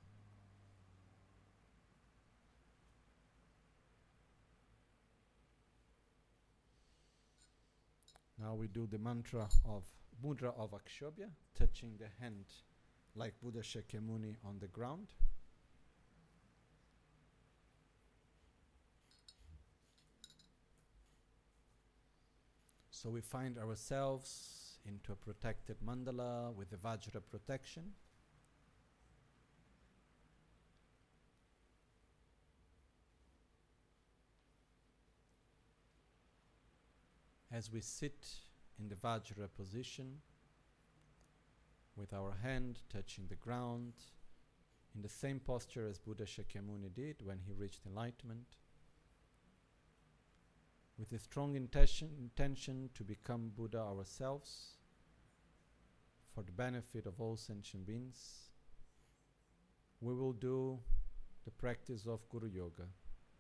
Now we do the mantra of mudra of Akshobhya, touching the hand like Buddha Shakyamuni on the ground. So we find ourselves into a protected mandala with the Vajra protection. As we sit in the Vajra position, with our hand touching the ground, in the same posture as Buddha Shakyamuni did when he reached enlightenment, with a strong intention to become Buddha ourselves, for the benefit of all sentient beings, we will do the practice of Guru Yoga.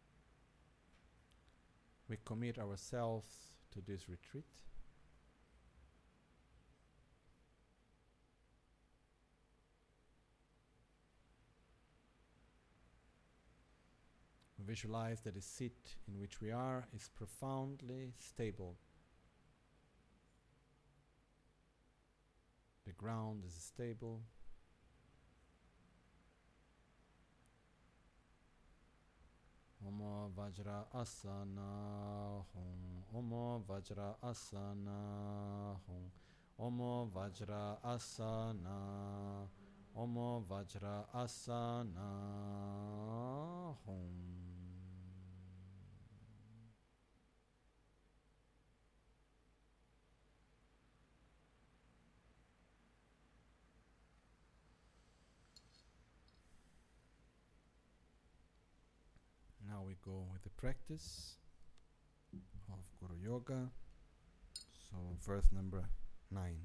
We commit ourselves to this retreat. We visualize that the seat in which we are is profoundly stable. The ground is stable. Om Vajra Asana Hum. Om Vajra Asana Hum. Om Vajra Asana. Om Vajra Asana Hum. we go with the practice of Guru Yoga. So verse number 9.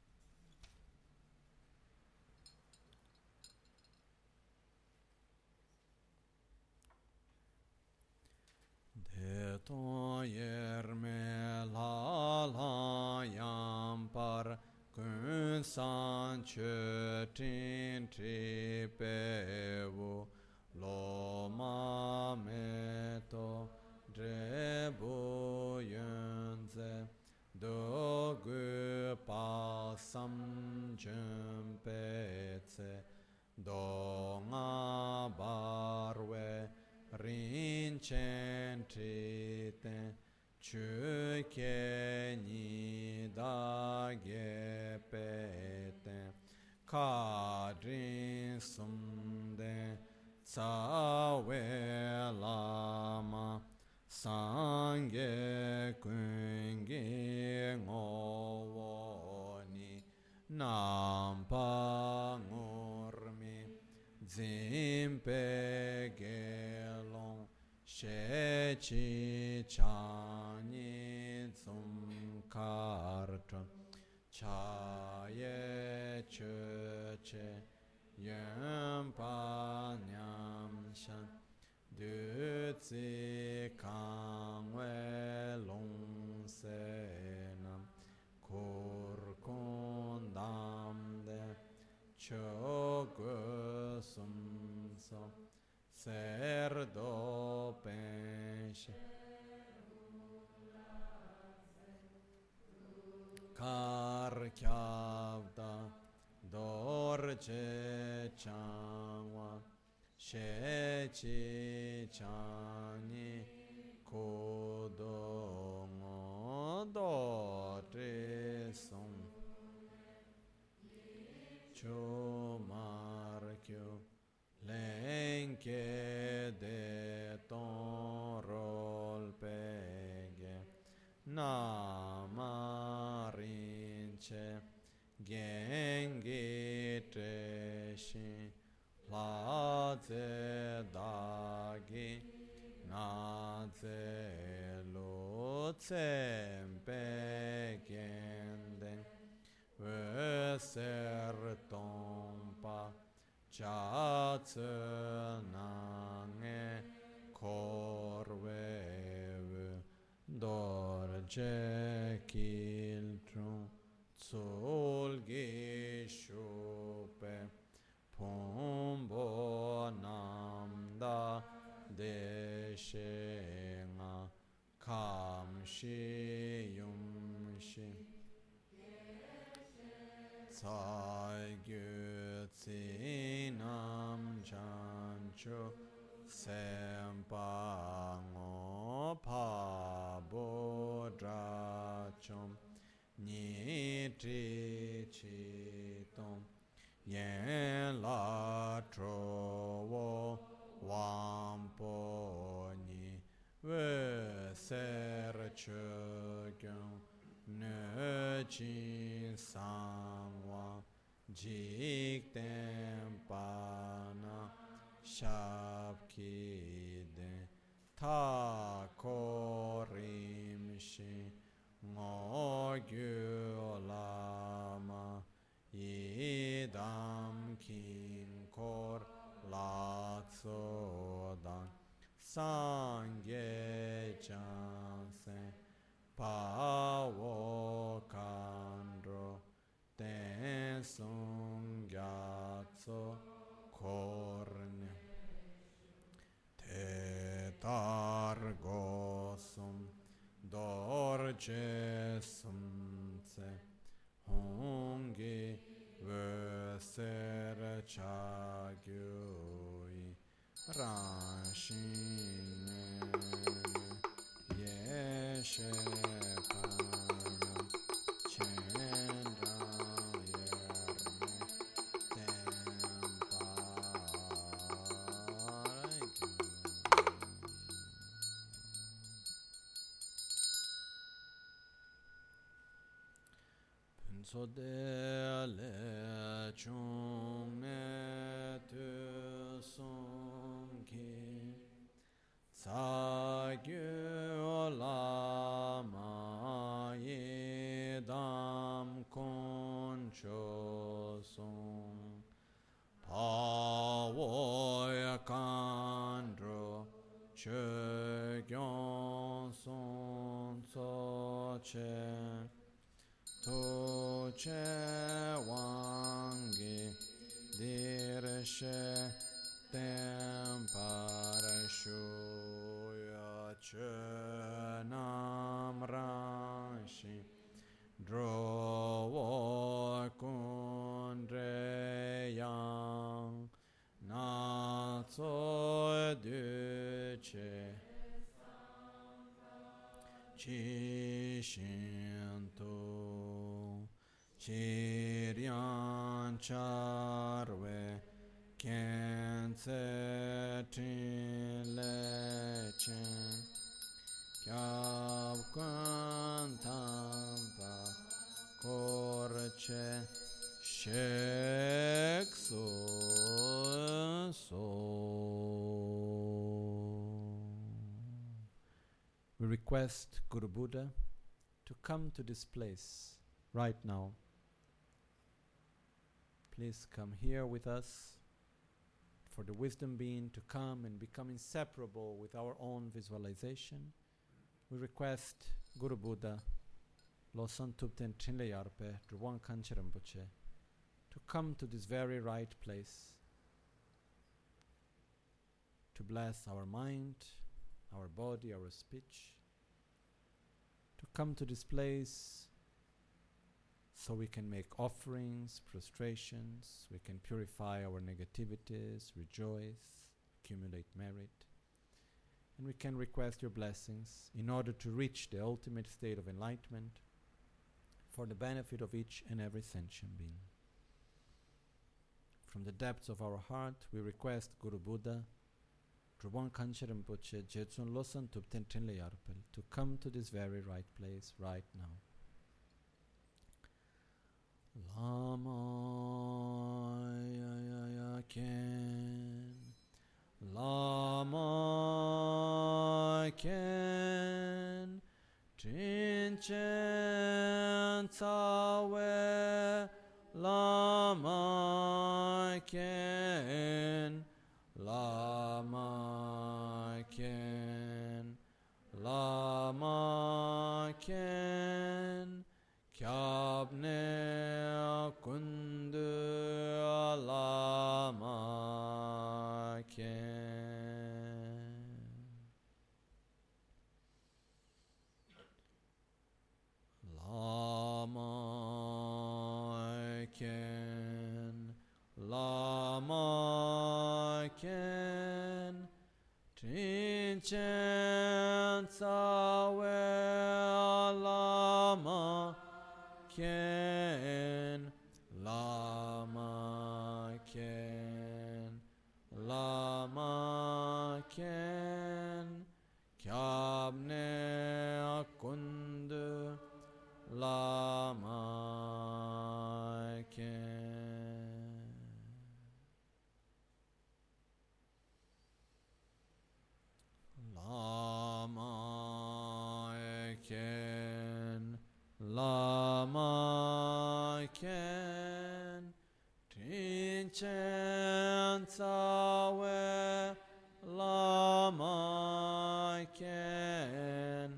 De ton yerme la la yam par kun san che tin tri pe vu lo ma me to dre bu yun ze do gu pa sam jem pe tse do nga bar we rin chen tri ten chu ke ni da ge pe ten ka drin sum den sa we la ma sang ge kun ge ngo wo ni nam pa ngor mi zim pe ge long she chi cha ni zum kar tram cha ye che che yam pa nyam shan du zi kang we long se nam kur kun dam de cho gu sum so ser do pen she kar kyav da dor che changwa she chi chani kodo ngo do tre sum cho mar kyo len ke de ton rol pege na marin che gengi tre shi la ze da gi na ze lo tsem pe gen den we ser ton pa cha tse na nge kor we dor je kil trum sol ge shope pombo nam da de she nga kam shi yum shi tsai gyu tsi nam chan chu sem pa ngo pa bo dra chom ni tri chi tom yen la tro wo wam po ni we ser che gyong ne chin sang wa jik tem pa na shab ki den ta ko rim shi ngo gyu la ma idam kin kor la tso dan sang ye chan sen pa wo kan ro ten sung ya tso korne te tar go sum dor je sum tse hongi ve ser cha gyui ran shin ye she panam chen ra yer tem so de le chung ne tu sum ki sa che gyon son tso che to che wangi dir she tem parashu ya che nam rashi dro wo kundre yang na tso du che chi shin tu chi rian charwe ken tse tin le chen kyab kun tam pa kor che shek so. We request Guru Buddha to come to this place right now. Please come here with us for the wisdom being to come and become inseparable with our own visualization. We request Guru Buddha, Losang Tupten Trinle Yarpe, Drwang Kanche Rinpoche, to come to this very right place to bless our mind, our body, our speech, to come to this place so we can make offerings, prostrations, we can purify our negativities, rejoice, accumulate merit, and we can request your blessings in order to reach the ultimate state of enlightenment for the benefit of each and every sentient being. From the depths of our heart, we request Guru Buddha, Drwang Kanche Rinpoche, Jetsun Losang Tupten Trinle Yarpel, to come to this very right place right now. Lama ya ken, Lama ken, Trin chen tsawe, Lama ken, Lama ken, Lama ken, kyabne kundu Lama ken. Lama ken, Lama ken, Trin chen tsawe Lama ken, Lama ken, Lama ken, kyabne kundu Lama ken. Lama ken, Lama ken, Trin chen tsawe, Lama ken,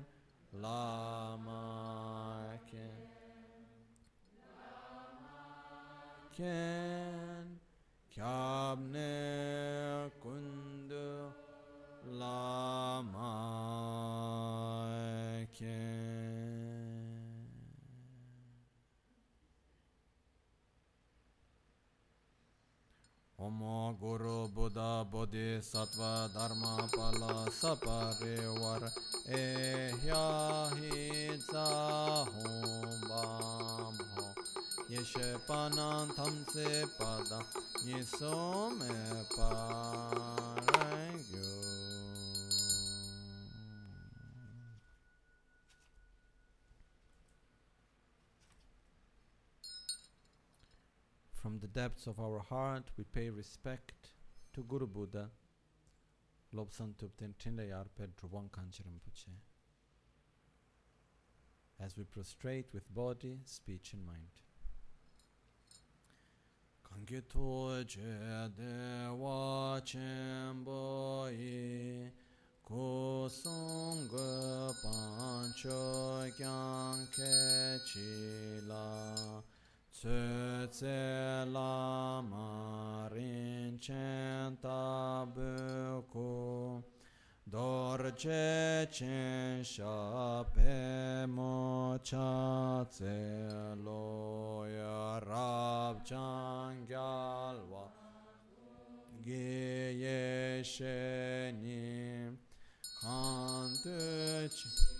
Lama ken, ken, kyabne kundu Lama ken. Om Guru Buddha Bodhisattva Dharma Pala Saparivar Ehya Hitsa Hum Bam Ho Yeshe Panan Thamse Pada Nisome Parangyo. From the depths of our heart, we pay respect to Guru Buddha, Lobsang Tupten Trinle Yarpe Drwang Kanche Rinpoche, as we prostrate with body, speech and mind. Kange to je dewa chenpo yi kusung pancho kyang ke chi la tsu tse la ma rin chen tabu ku dor che chen sha pe mo cha tse lo ya rab chang gyal wa ge ye she ni kan tu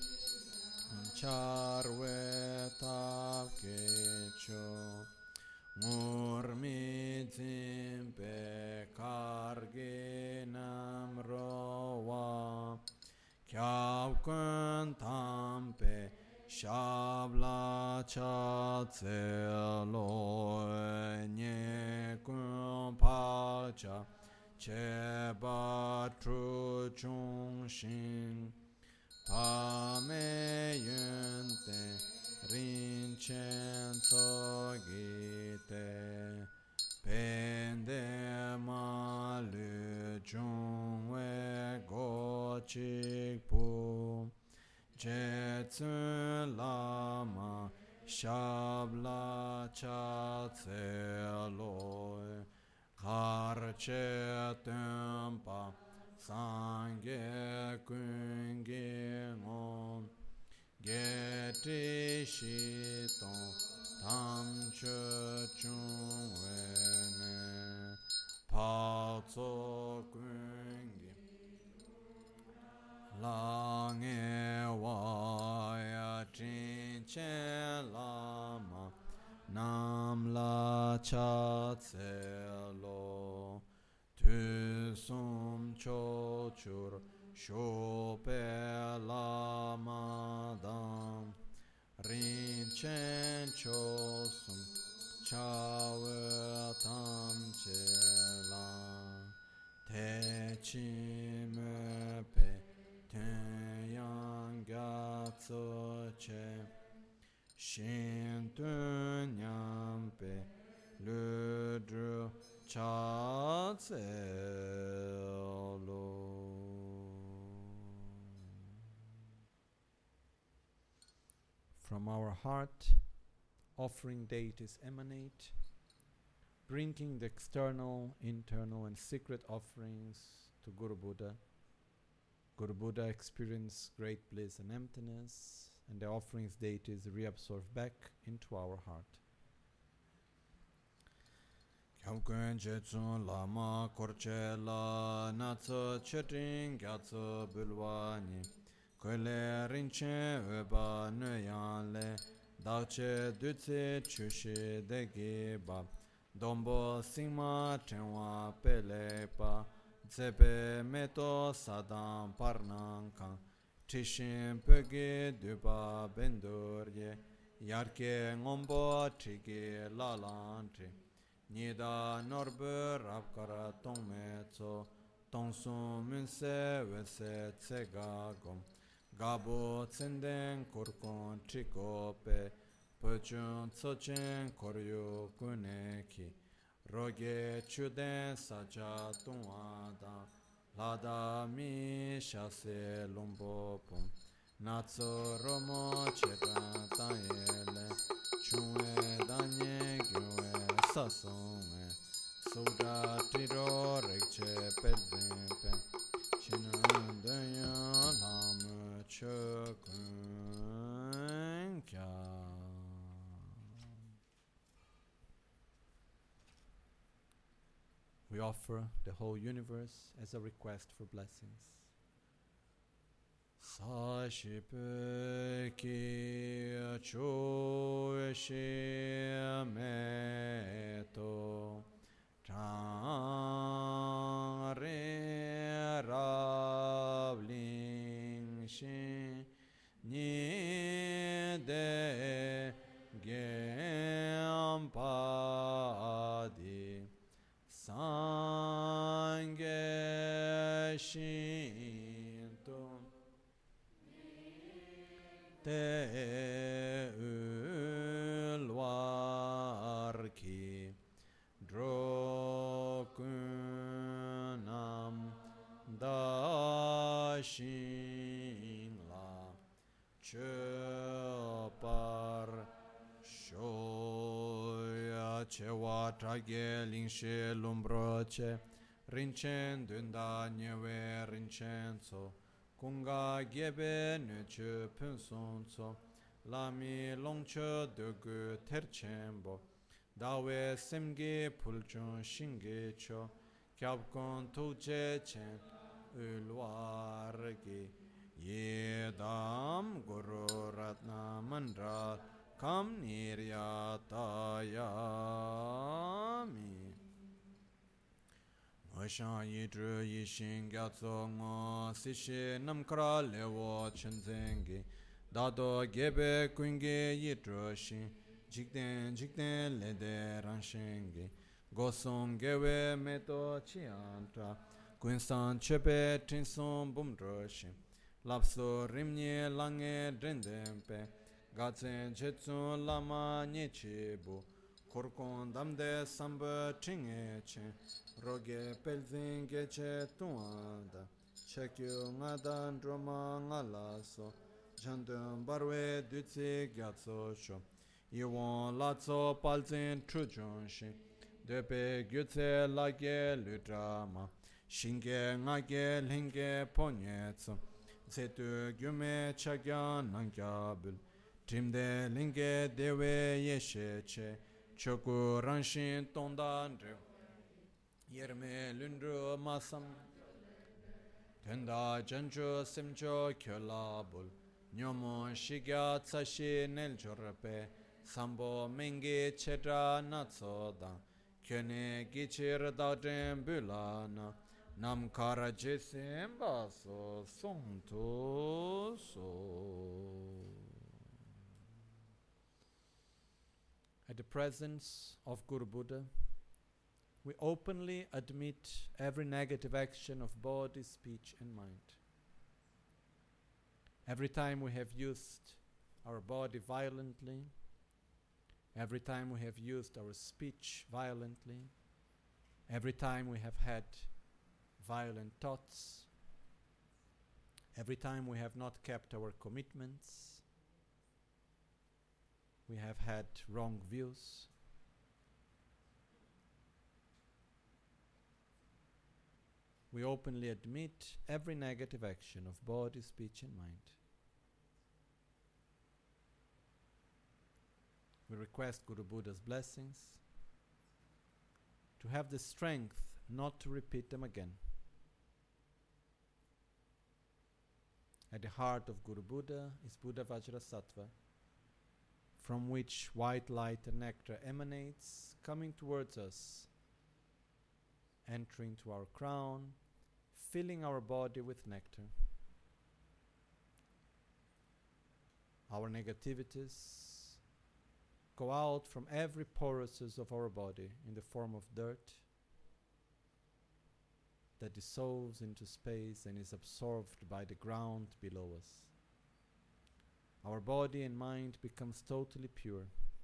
char we tap ke cho mur mi zim pe kar ge nam ro wa kyav kun tam pe shab la cha tse lo nye kun pa cha che ba tru chung shin pa me yun te rin chen so gi te pen de ma lu chung we go chik pu je tsun la ma shab la cha tse lo har che tempa sangye kun ge ngon ge ti shi tong tam che chung we ne pa tso kun ge la nge wa ya chin chen la ma nam la cha tse lo tu sum cho chur sho pe la ma dam rin chen cho sum cha we tam che la te chi me pe ten yang ga tso che shin tu nyam pe lu dru cha tse lo. From our heart, offering deities emanate, bringing the external, internal, and secret offerings to Guru Buddha. Guru Buddha experienced great bliss and emptiness, and the offerings deities reabsorb back into our heart. Kyamkön jetsun lama korche la natso chetin gyatso bulwani koile rinche öba nöyanle dakche dutse chushi degi bab dombo singma tenwa pelepa tsepe meto sadam parnankan tishin pöge duba bendurye yarke ngombo trige lalantri Nida norbe rapkara tongme tso Tongsun munse wese tsega gom Gabo tsenden kurkon trikope Pechun tsochen koryo kuneki Roge chuden sacha tungwada Lada mi shase lumbo pum Natso romo chepan tayele Chunwe danye gyue sasonge Soda tiro rekche pedzimpe Chinan danya lam chokun kya. We offer the whole universe as a request for blessings. Sashipe ki chu shi me to chang re rav ling shi ni de gem pa di sangye shin to te ulwar ki drokunam dash shin la che par shoya che wa trage lingshe lumbroche rinchen dunda nyewe rinchen kunga gebe ne che penson lami longcho de gu terchenbo dawe semge pulchon shinge cho kyabkon tuje chen ulwarge yedam guru ratna mandra kam niryatayami Oshan yidru yishin gyatso ngo sishi namkara lewo chenzengi Dado gebe kunge yidru shin jikden jikden lede ranshengi Gosong gewe meto chiantra Kunsan chepe tinson bumdro shin Lapso rimnye lange drendempe Gatsen chetsun lama nyechibu Korkon damde samba chinge chen Roge pelzin geche tuanda Chekyo ngada droma ngalaso Jandun barwe dutsi gyatso sho Iwon latso palzin trujonshin Depe gyutse lage ludrama Shinge ngage linge ponyetso Zetu gyume chagya nangyabul Trimde linge dewe yesheche Choku ranshin tondandre Yerme lundru masam Tenda janju simjo kyolabul Nyomo shigya tsashi neljorpe Sambo mengi chedra natsoda Kyone gichir dadem bulana Nam kara jesim baso sonto so At the presence of Guru Buddha, we openly admit every negative action of body, speech, and mind. Every time we have used our body violently, every time we have used our speech violently, every time we have had violent thoughts, every time we have not kept our commitments, we have had wrong views, we openly admit every negative action of body, speech, and mind. We request Guru Buddha's blessings to have the strength not to repeat them again. At the heart of Guru Buddha is Buddha Vajrasattva, from which white light and nectar emanates, coming towards us, entering to our crown, filling our body with nectar. Our negativities go out from every porousness of our body in the form of dirt that dissolves into space and is absorbed by the ground below us. Our body and mind becomes totally pure.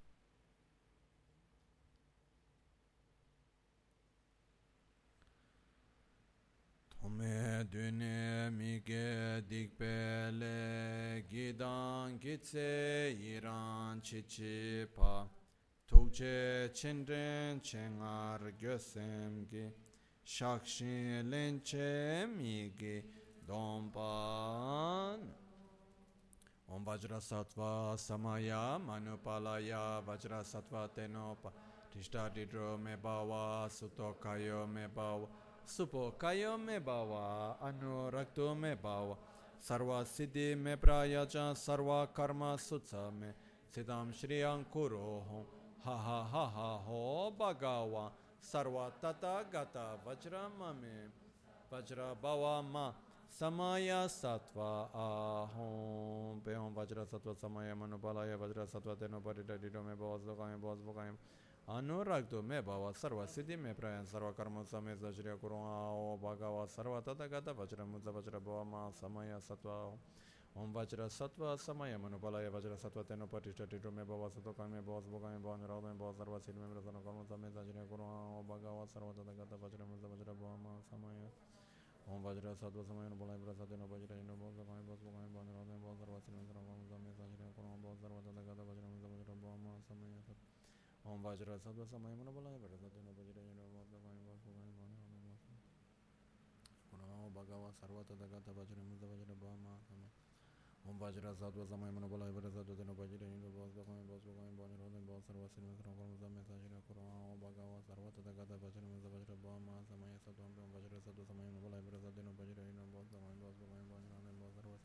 Tome dune mige dikpele gidan gitse iran chichi pa tukche chendren chengar gösemgi shakshin lenche mige dompan Om Vajrasattva Samaya Manupalaya Vajrasattva Tenopa Tishta Didro Me Bhava Sutokayo Me Bhava Supokayo Me Bhava Anurakto Me Bhava Sarva Siddhi Me Prayaja Sarva Karma Sutsa Me Siddham Shriyam Kuroho Ha Ha Ha Ha Ho Bhagawa Sarva Tata Gata Vajrama Me Vajra Bhava Ma Samaya Sattva Ahom Behom Vajra Sattva Samaya Manupalaya Vajra Sattva Teno Parita Dido Me Bhavas Lokayam Bhavas Bhokayam Anuragdo Me Bhava Sarva Siddhi Me Prayan Sarva Karma Same Sajriya Kurung Ao Bhagava Sarva Tata Gata Vajra Mudza Vajra Bhava Ma Samaya Sattva Om Vajra Sattva Samaya Manupalaya Vajra Sattva Teno Parita Dido Me Bhavas Lokayam Me Bhavas Bhokayam Anuragdo Me Bhava Sarva Siddhi Me Prayan Karma Same Sajriya Kurung Ao Bhagava Sarva Tata Gata Vajra Mudza Vajra Bhava Ma Samaya Om Vajra Sattva Samayana Bolai Prasadena Vajra Indra Bosa Kami Bosva Kami Bandhana Odem Bosa Sarva Sinvasana Kama Zame Sajira Kurama Bosa Sarva Tadagata Vajra Misa Vajra Bhama Samaya Sat Om Vajra Sattva Samayana Bolai Prasadena Vajra Indra Bosa Kami Bosva Kami Bandhana Odem Bosa Kurama Bhagava Sarva Tadagata Vajra Misa Vajra Bhama Samaya Om Vajra Sattva Samayana Bolai Prasadena Vajra Indra Bosa Kami Bosva Kami Bandhana Odem Bosa Sarva Sinvasana Kama Zame Sajira Kurama Bhagava Sarva Tadagata Vajra Misa Vajra Bhama Samaya Sat Om Vajra Sattva Samayana Bolai Prasadena Vajra Indra Bosa Kami Bosva Kami Bandhana Odem Bosa Sarva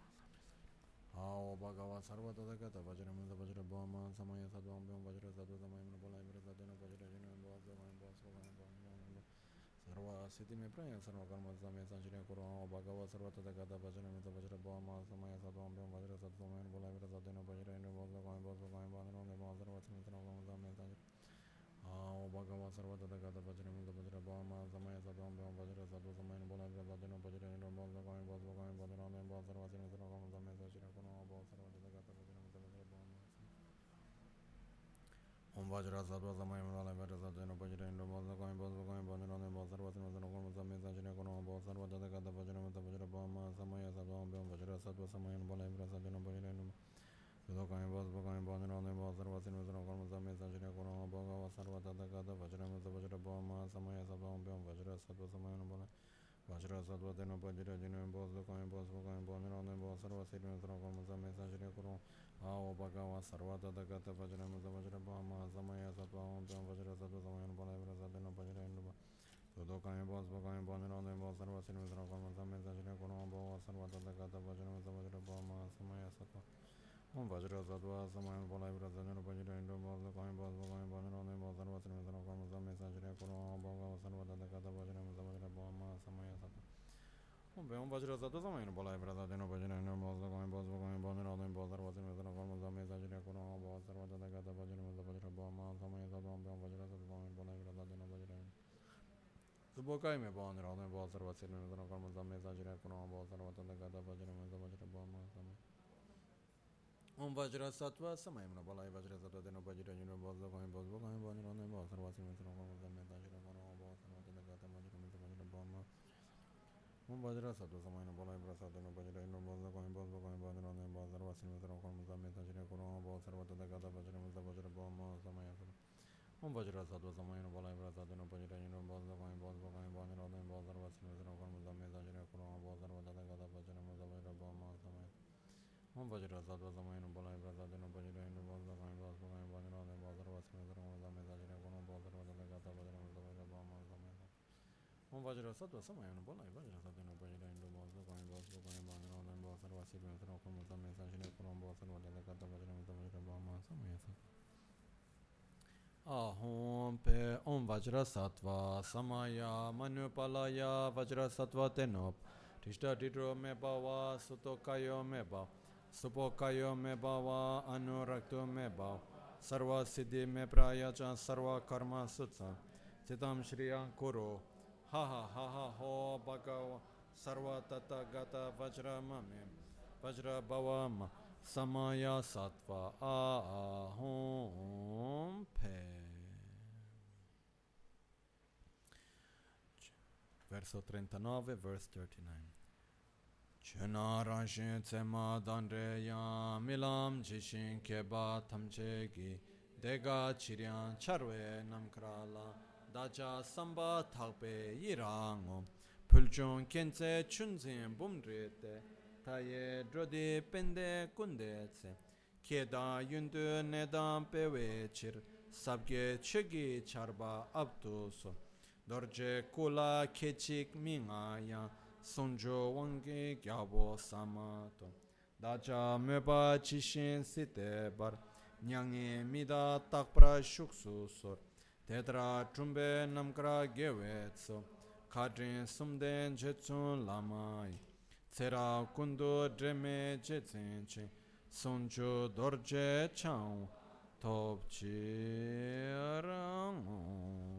Ao Bhagava Sarva Tadagata Vajra Misa Vajra Bhama Samaya Sat Om Vajra Sattva Samayana Bolai Prasadena Vajra Indra Bosa Kami Bosva Kami Bandhana Sarva Siddhi Me Praya Sarva Karma Samaya Sanjaya Kurama Bhagava Sarva Tadagata Vajra Misa Vajra Bhama Samaya Sat Om Vajra Sattva Samayana Bolai Prasadena Vajra Indra Bosa Kami Bosva Kami Bandhana Odem Bosa Sarva Siddhi Me Praya Samaya Sanjaya Ao Bhagava Sarva Tadagata Vajra Misa Vajra Bhama Samaya Sat Om Vajra Sattva Samayana Bolai Prasadena Vajra Indra Bosa Kami Bosva Kami Bandhana Odem Bosa Sarva Siddhi Me Praya Samaya Sanjaya Kurama Bhagava Sarva Tadagata Vajra Misa Vajra Bhama Om Vajra Sattva Samayana Bolai Prasadena Vajra Indra Bosa Kami Bosva Kami Bandhana Odem Bosa Sarva Siddhi Me Praya Samaya Sanjaya Kurama Bhagava Sarva Tadagata Vajra Misa Vajra Bhama Samaya Sat Om Vajra Sattva Samayana Bolai Prasadena Vajra Indra Kami Bosva Kami Bandhana Odem Bosa Sarva Siddhi Me Praya Samaya Sanjaya Kurama Bhagava Sarva Tadagata Vajra Misa Vajra Bhama Samaya Sat Om Vajra Sattva Samayana Bolai Vajra Sattva Tena Vajra Jina Bosa Kami Bosva Kami Bandhana Odem Bosa Sarva Siddhi Me Praya Samaya Sanjaya Kurama Ao Bhagava Sarva Tadagata Vajra Misa Vajra Bhama Samaya Sat Om Vajra Sattva Samayana Bolai Prasadena Vajra Indra Kami Bosva Kami Bandhana Odem Bosa Sarva Siddhi Me Praya Samaya Sanjaya Kurama Bhagava Sarva Tadagata Vajra Misa Vajra Bhama Samaya Sat Om Vajra Sattva Samayana Bolai Prasadena Vajra Indra Bosa Kami Bosva Kami Bandhana Odem Bosa Sarva Siddhi Me Praya Samaya Sanjaya Kurama Bhagava Sarva Tadagata Vajra Misa Vajra Bhama Samaya Sat Om Vajra Sattva Samayana Bolai Prasadena Vajra Indra Bosa Kami Bosva Kami Bandhana Odem Bosa Sarva Siddhi Me Praya Samaya Sanjaya Kurama Bhagava Sarva Tadagata Vajra Misa Vajra Bhama Samaya Sat Om Vajra Sattva Samayana Bolai Prasadena Vajra Subokai Me Bandhana Odem Bosa Sarva Siddhi Me Praya Samaya Sanjaya Kurama Bhagava Sarva Tadagata Vajra Misa Vajra Bhama Samaya Om Vajra Sattva Samayana Bolai Vajra Sattva Tena Vajra Indra Bosa Kami Bosva Kami Bandhana Odem Bosa Sarva Siddhi Me Praya Samaya Sanjaya Kurama Bhagava Sarva Tadagata Vajra Misa Vajra Bhama Om Vajra Sattva Samayana Bolai Prasadena Vajra Indra Bosa Kami Bosva Kami Bandhana Odem Bosa Sarva Siddhi Me Praya Samaya Sanjaya Kurama Bhagava Sarva Tadagata Vajra Misa Vajra Bhama Samaya Sat Om Vajra Sattva Samayana Bolai Prasadena Vajra Indra Bosa Kami Bosva Kami Bandhana Odem Bosa Sarva Siddhi Me Praya Samaya Sanjaya Kurama Bhagava Sarva Tadagata Vajra Misa Vajra Bhama Samaya Om Vajra Sattva Samayana Bolai Prasadena Vajra Indra Bosa Kami Bosva Kami Bandhana Odem Bosa Sarva Siddhi Me Praya Samaya Sanjaya Kurama Bhagava Sarva Tadagata Vajra Misa Vajra Bhama Samaya Om Vajra Sattva Samayana Bolai Vajra Sattva Vajra Indra Bosa Kami Bosva Kami Bandhana Odem Bosa Sarva Siddhi Me Praya Samaya Sanjaya Kurama Bhagava Sarva Tadagata Vajra Misa Vajra Bhama Samaya Sat Ahom Pe Om Vajra Sattva Samaya Manupalaya Vajra Sattva Tenop Tishta Tidro Me Bhava Sutokayo Me Bhav Supokayo Me Bhava Anurakto Me Bhav Sarva Siddhi Me Praya Cha Sarva Karma Sutsa Sitam Shriya Kuro Ha ha ha ha ho Bhagava Sarva Tata Gata Vajra Mame Vajra Bhava Ma Samaya Sattva Ahom Pe Verso 39, verse 39 Chönarashin Tsema Dandreya Milam Jishin Keba Tamchegi Dega Chiryan Charwe Namkrala Daja Samba Thakpe Yirango Pulchon Kense Chunzin Bumdrete Taye Drodi Pende Kundetse Keda Yundu Nedam Pewe Chir Sabge Chegi Charba Abduso Dorje Kula Kechik Mingaya Sonjo Wange Gyabo Samato Daja Meba Chishin Site Bar Nyange Mida Takpra Shuksu Sor Tedra Trumbe Namkra Gewetso Kadrin Sumden Jetsun Lamai Tsera Kundu Dreme Jetsenche Sonjo Dorje Chang Topchirang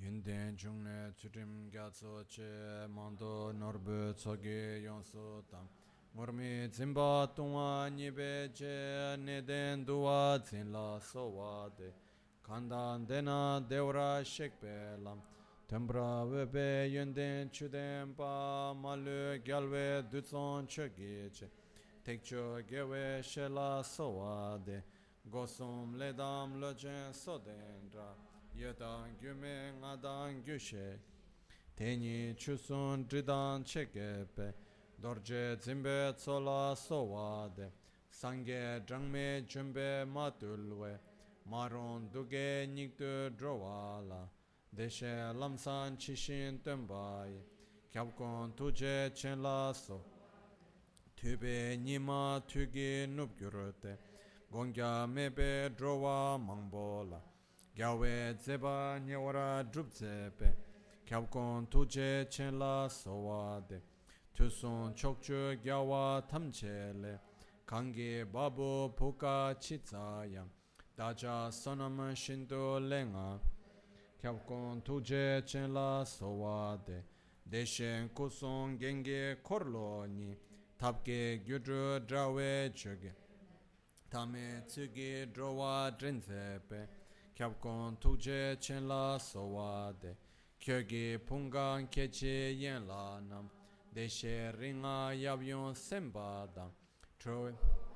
Yunden jungne tsudim gyatso che mando norbu tsoge yonso tam. Murmi zimba tungwa nipe che neden duwa zinla sowa de. Kandan dena devra shekpe lam. Tembra wepe yunden chuden pa malu gyalwe dutson choge che. Tekcho gewe shela sowa de. Gosum ledam lojen sodendra. Yedang gyume ngadang gyushe Teni chusun dridang chekepe Dorje zimbe tsola sowade Sangye drangme jumbe matulwe Maron duge nikdu drowala Deshe lamsan chishin tembaye Kyabkon tuje chenla so Tube nima tugi nubgyurute Gongya mebe drowa mangbola Gyawe dzeba nyewara drupzepe Kyabkon tuje chenla sowade Tusun chokchu gyawa tamchele Kangi babu puka chitsaya Daja sonam shindu lenga Kyabkon tuje chenla sowade Deshen kusung genge korlo ni Tapke gyudru drawe chuge Tame tsugi drowa drinzepe Kyabkon tuje chenla sowade Kyogi pungan keche yenla nam Deshe ringa yabyon sembada Troe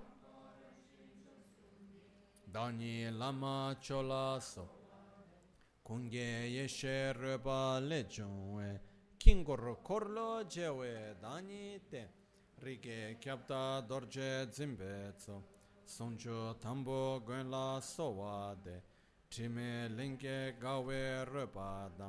Dani lama chola so Kunge yeshe reba lechonwe Kingor korlo jewe dani te Rike kyabda dorje zimbetso Sonjo tambo gwenla sowade Time linke gawe repada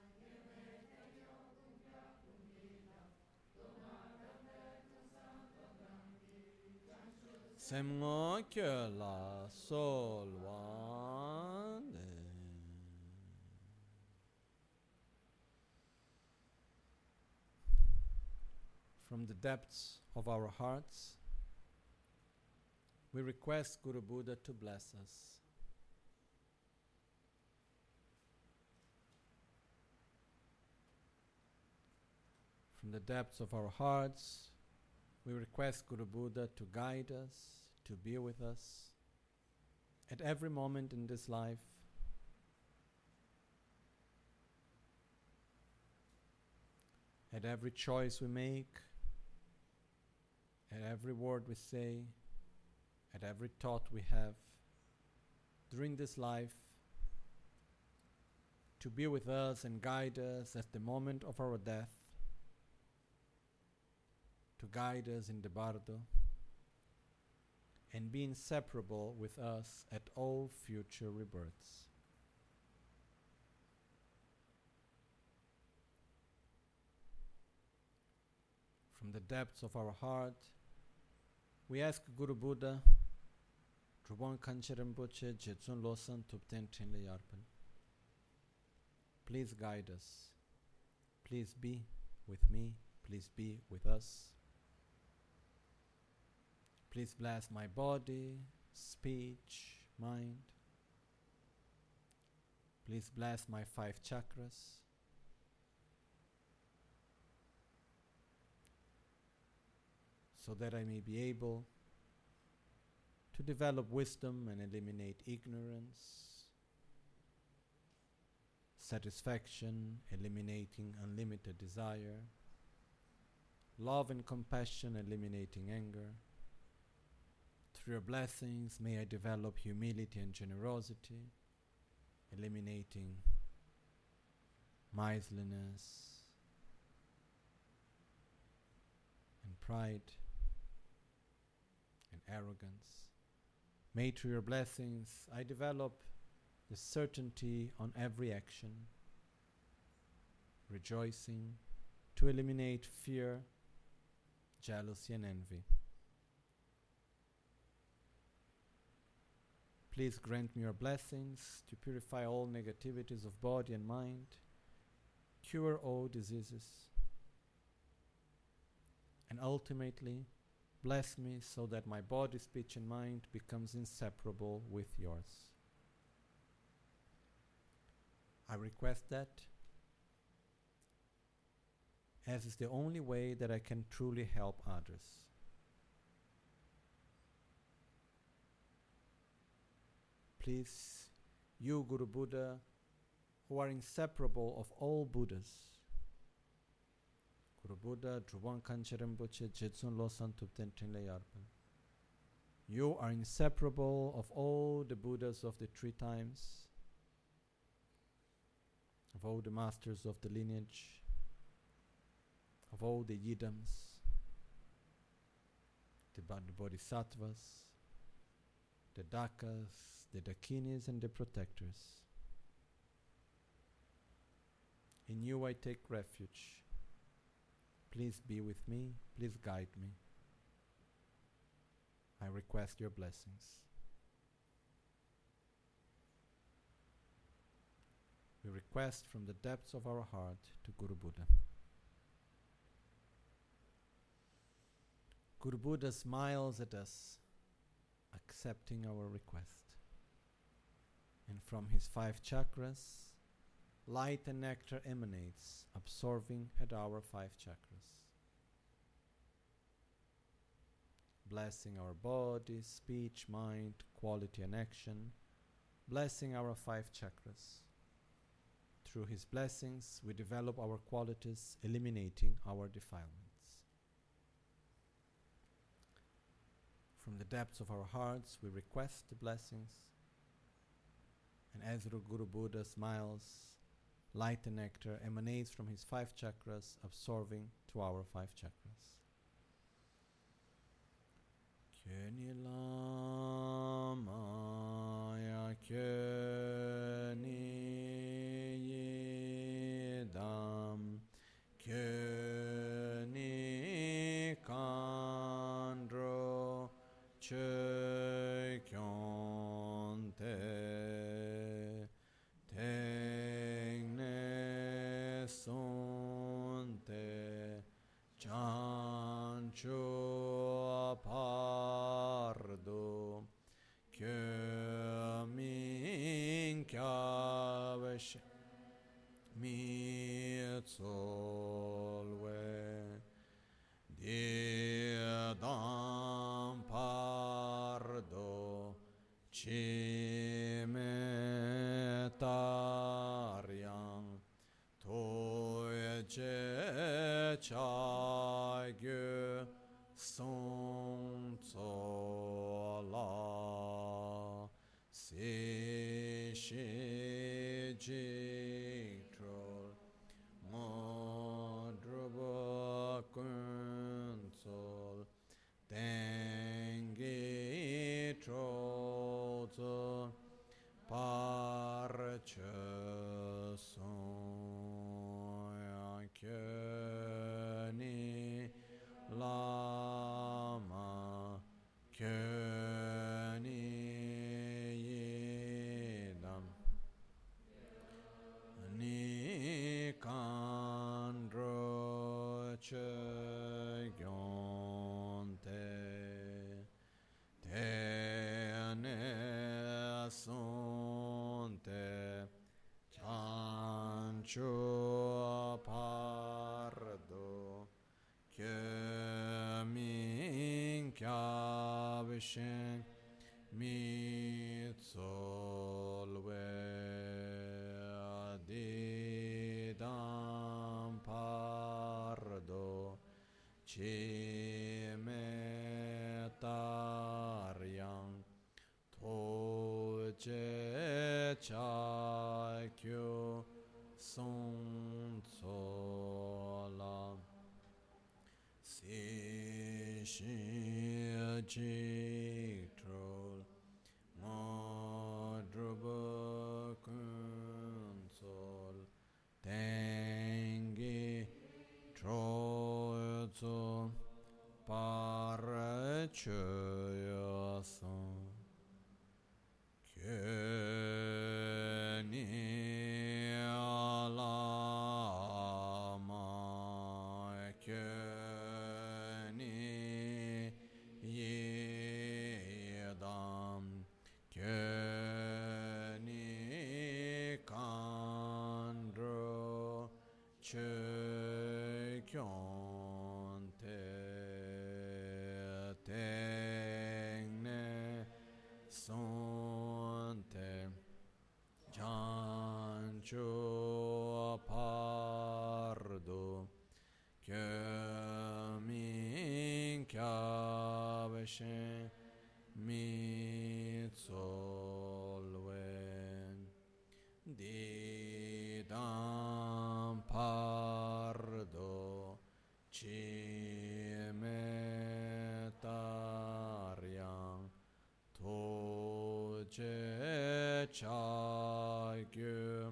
Semgo ke la solwande From the depths of our hearts, we request Guru Buddha to bless us. From the depths of our hearts, we request Guru Buddha to guide us, to be with us at every moment in this life, at every choice we make, at every word we say, at every thought we have during this life, to be with us and guide us at the moment of our death, to guide us in the bardo, and be inseparable with us at all future rebirths. From the depths of our heart, we ask Guru Buddha, Drubon Kanche Rinpoche, Jetsun Losan Tupten Trinle Yarpan. Please guide us. Please be with me. Please be with us. Please bless my body, speech, mind. Please bless my 5 chakras. So that I may be able to develop wisdom and eliminate ignorance, satisfaction, eliminating unlimited desire, love and compassion, eliminating anger. Through your blessings, may I develop humility and generosity, eliminating miserliness and pride and arrogance. May through your blessings I develop the certainty on every action, rejoicing to eliminate fear, jealousy and envy. Please grant me your blessings to purify all negativities of body and mind, cure all diseases, and ultimately bless me so that my body, speech and mind becomes inseparable with yours. I request that, as is the only way that I can truly help others. Please, you, Guru Buddha, who are inseparable of all Buddhas, Guru Buddha, Drupal Rinpoche, Jetsun Losang Tupten Trinle Yarpa, you are inseparable of all the Buddhas of the 3 times, of all the masters of the lineage, of all the Yidams, the Bodhisattvas, the Dakas, the Dakinis, and the protectors. In you I take refuge. Please be with me, please guide me. I request your blessings. We request from the depths of our heart to Guru Buddha. Guru Buddha smiles at us, accepting our request. And from his 5 chakras, light and nectar emanates, absorbing at our 5 chakras, blessing our body, speech, mind, quality and action, blessing our 5 chakras. Through his blessings, we develop our qualities, eliminating our defilements. From the depths of our hearts, we request the blessings, and as Guru Buddha smiles, light and nectar emanates from his 5 chakras, absorbing to our 5 chakras. Kyeni Lamaya Kyeni Yidam Kyeni Kandro Che Kyonte Tengne Sonte Chancho Pardo Kyomin Kyavesh Mitzolwe Diadam Pardo Cimetariam Toye Chagyu Sonsola Si Shi Jiktrol Modruba Kunsol Tengi Trozo Parche Soya Kyeni Lama Kyeni Yidam Nikandro Che Gyonte Tene Sonte Chancho Pardo Kyemin Kyavishen Mitzolwe Didam Pardo Cimetariam Toje Chakyo Sonsola Si Shi Jiktrol Modruba Kunsol Tengi Trozo Parachoyasan Kyeni Alama Kyeni Yedam Kyeni Kan Sonte Jancho Pardo Kyomin Kyaveshen Mitsolwen Didam Pardo Chimetarian Toje Chagyu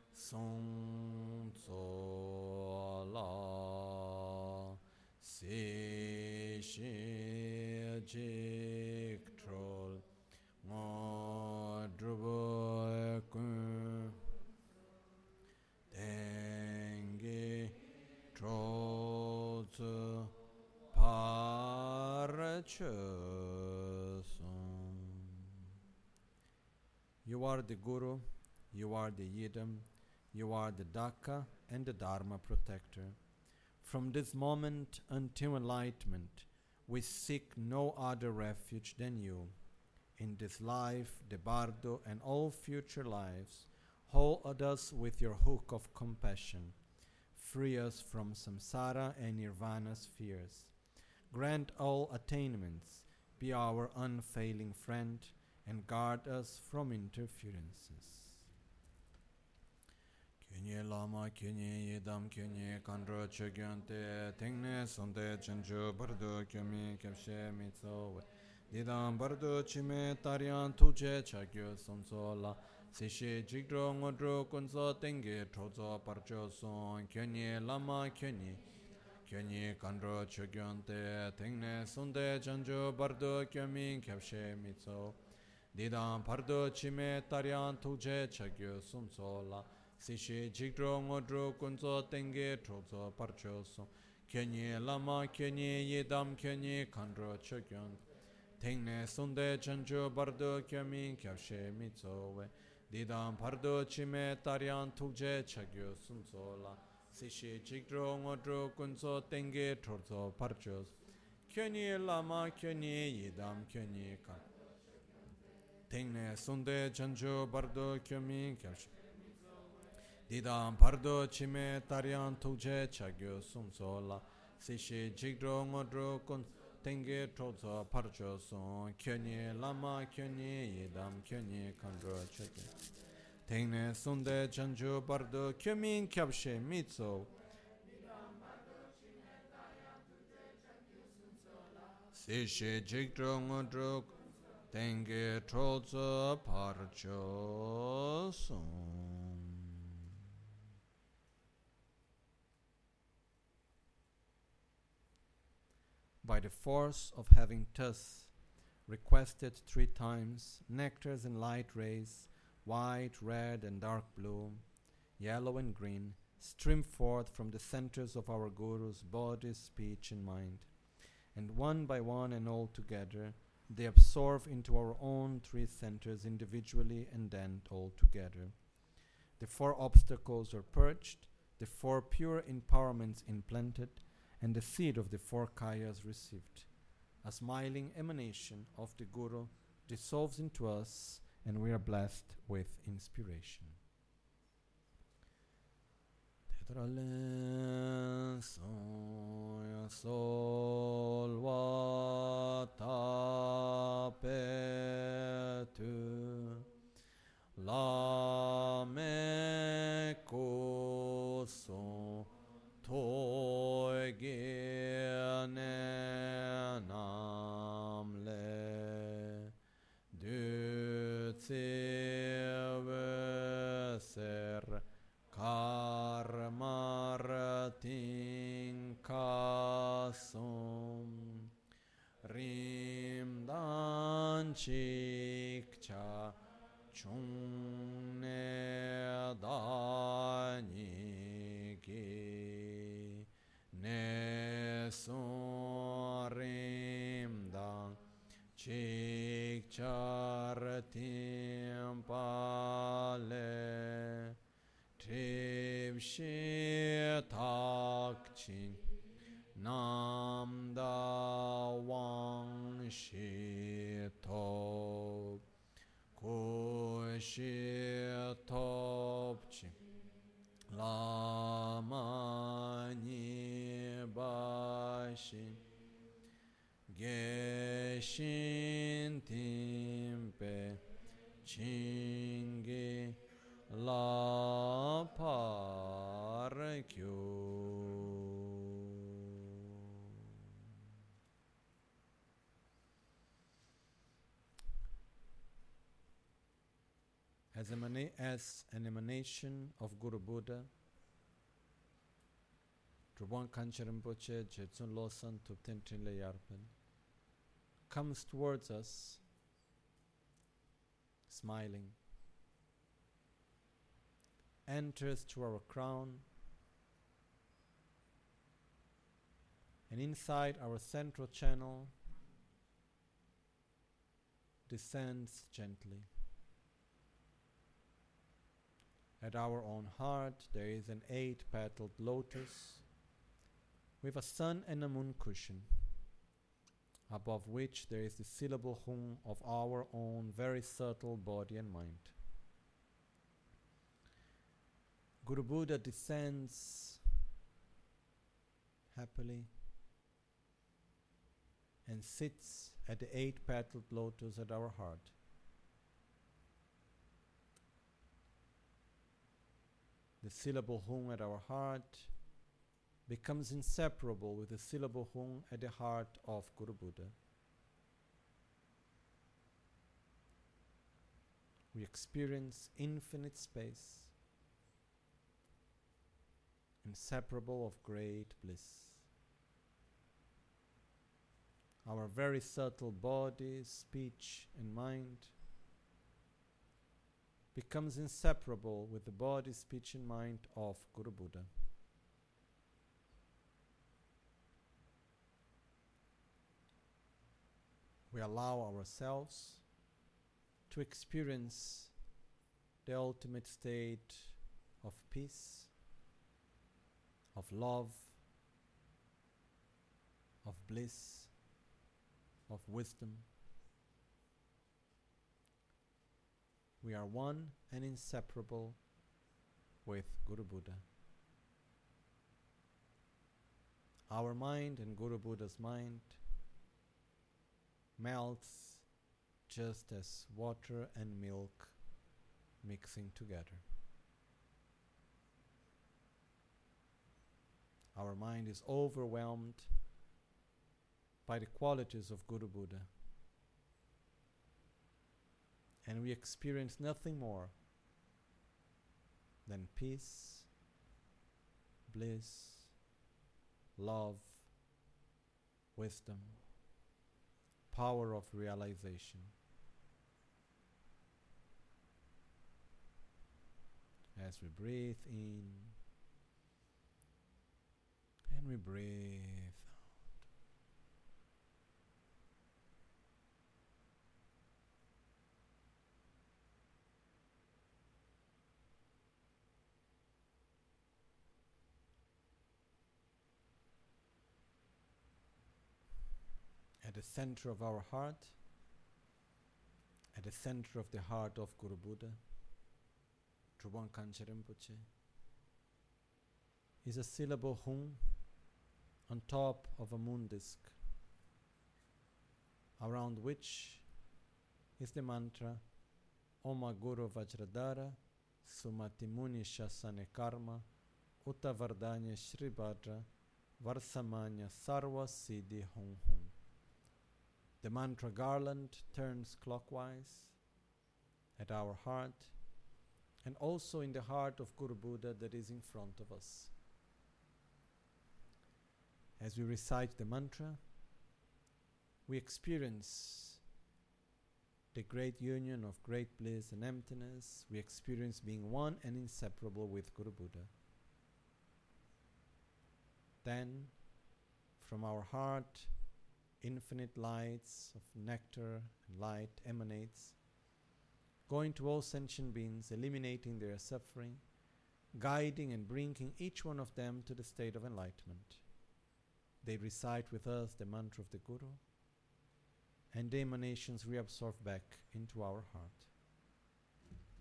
Sonsola Si Shi Jik Troll Ngodrubo Kun Dengi Troll Parachusum. You are the Guru, you are the Yidam, you are the Daka and the Dharma protector. From this moment until enlightenment, we seek no other refuge than you. In this life, the Bardo, and all future lives, hold us with your hook of compassion. Free us from samsara and nirvana's fears. Grant all attainments, be our unfailing friend, and guard us from interferences. Kyunye lama kyunye yedam kyunye kandro chogyante tengne sonde chanchu bardo kyumi kyapshe mitsowe didam bardo chime taryan tuje chagyo sonsola Sishi jigdro ngodro kunso tenge trozo parcho son kyunye lama kyunye kandro chogyante tengne sonde chanchu bardo kyumi kyapshe mitsowe Didam pardo chime taryan tuje chagyo sonsola Sishi jigdro ngodro kunzo tenge trozo parcho son Kyenye lama kyenye yedam kyenye kandro chogyon Tengne sonde chancho bardo kyamin kyabshe mitsowe Didam pardo chime taryan tuje chagyo sunsola Sishi jigdro ngodro kunzo tenge trozo parcho son Kyenye lama kyenye yedam kyenye kandro Tengne sonde chancho bardo kyamin kyabshe Didam pardo chime taryan tuje chagyo sumsola Sishi jigdro ngodro kun tenge trozo parcho son Kyenye lama kyenye yedam kyenye kandro chagyo Tengne sunde chancho bardo kyemin kyabshe mitso Sishi jigdro ngodro tenge trozo parcho son By the force of having thus requested 3 times nectars and light rays, white, red, and dark blue, yellow and green, stream forth from the centers of our Guru's body, speech, and mind, and one by one and all together, they absorb into our own 3 centers individually and then all together. The 4 obstacles are purged, the 4 pure empowerments implanted, and the seed of the 4 kayas received. A smiling emanation of the Guru dissolves into us, and we are blessed with inspiration. Tetralen soya sol vata petu la me koso Toigene namle du ser karmartin kasum rimdan chikcha chungne dani ki ne sorim dan chikchar timpale trivshi takchin nam da wang shi to shi topchi lama ni bashi geshin timpe chingi la parkyu. As an emanation of Guru Buddha, Trubon Kanchen Rinpoche, Jetsun Losang Tupten Trinle Yarpen, comes towards us, smiling, enters through our crown, and inside our central channel descends gently. At our own heart there is an 8-petaled lotus with a sun and a moon cushion, above which there is the syllable hum of our own very subtle body and mind. Guru Buddha descends happily and sits at the 8-petaled lotus at our heart. The syllable hum at our heart becomes inseparable with the syllable hum at the heart of Guru Buddha. We experience infinite space, inseparable of great bliss. Our very subtle body, speech, and mind becomes inseparable with the body, speech, and mind of Guru Buddha. We allow ourselves to experience the ultimate state of peace, of love, of bliss, of wisdom. We are one and inseparable with Guru Buddha. Our mind and Guru Buddha's mind melts just as water and milk mixing together. Our mind is overwhelmed by the qualities of Guru Buddha, and we experience nothing more than peace, bliss, love, wisdom, power of realization. As we breathe in and we breathe out. At the center of our heart, at the center of the heart of Guru Buddha, Trubon Kanchen Rinpoche, is a syllable hum on top of a moon disk, around which is the mantra Oma Guru Vajradhara Sumati Muni Shasane Karma Uta Vardanya Shribhadra Varsamanya Sarva Siddhi Hum Hum. The mantra garland turns clockwise at our heart and also in the heart of Guru Buddha that is in front of us. As we recite the mantra, we experience the great union of great bliss and emptiness. We experience being one and inseparable with Guru Buddha. Then, from our heart, infinite lights of nectar and light emanates, going to all sentient beings, eliminating their suffering, guiding and bringing each one of them to the state of enlightenment. They recite with us the mantra of the Guru, and the emanations reabsorb back into our heart.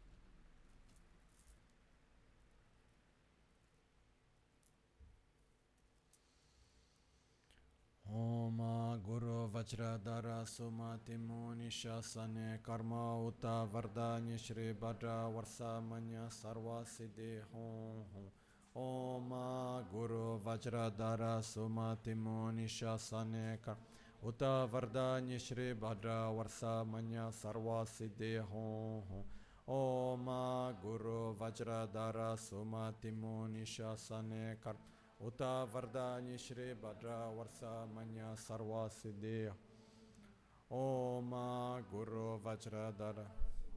Vajradhara Sumati Muni Shasane Karma Uta Vardhanya Shri Bhadra Varsamanya Sarva Siddhi Hum Hum Om Guru Vajradhara Sumati Muni Shasane Karma Uta Vardhanya Shri Bhadra Varsamanya Sarva Siddhi Hum Hum Om Guru Vajradhara Sumati Muni Shasane Karma Uta Vardhanya Shri Bhadra Varsamanya Sarva Siddhi Om Guru Vajradhara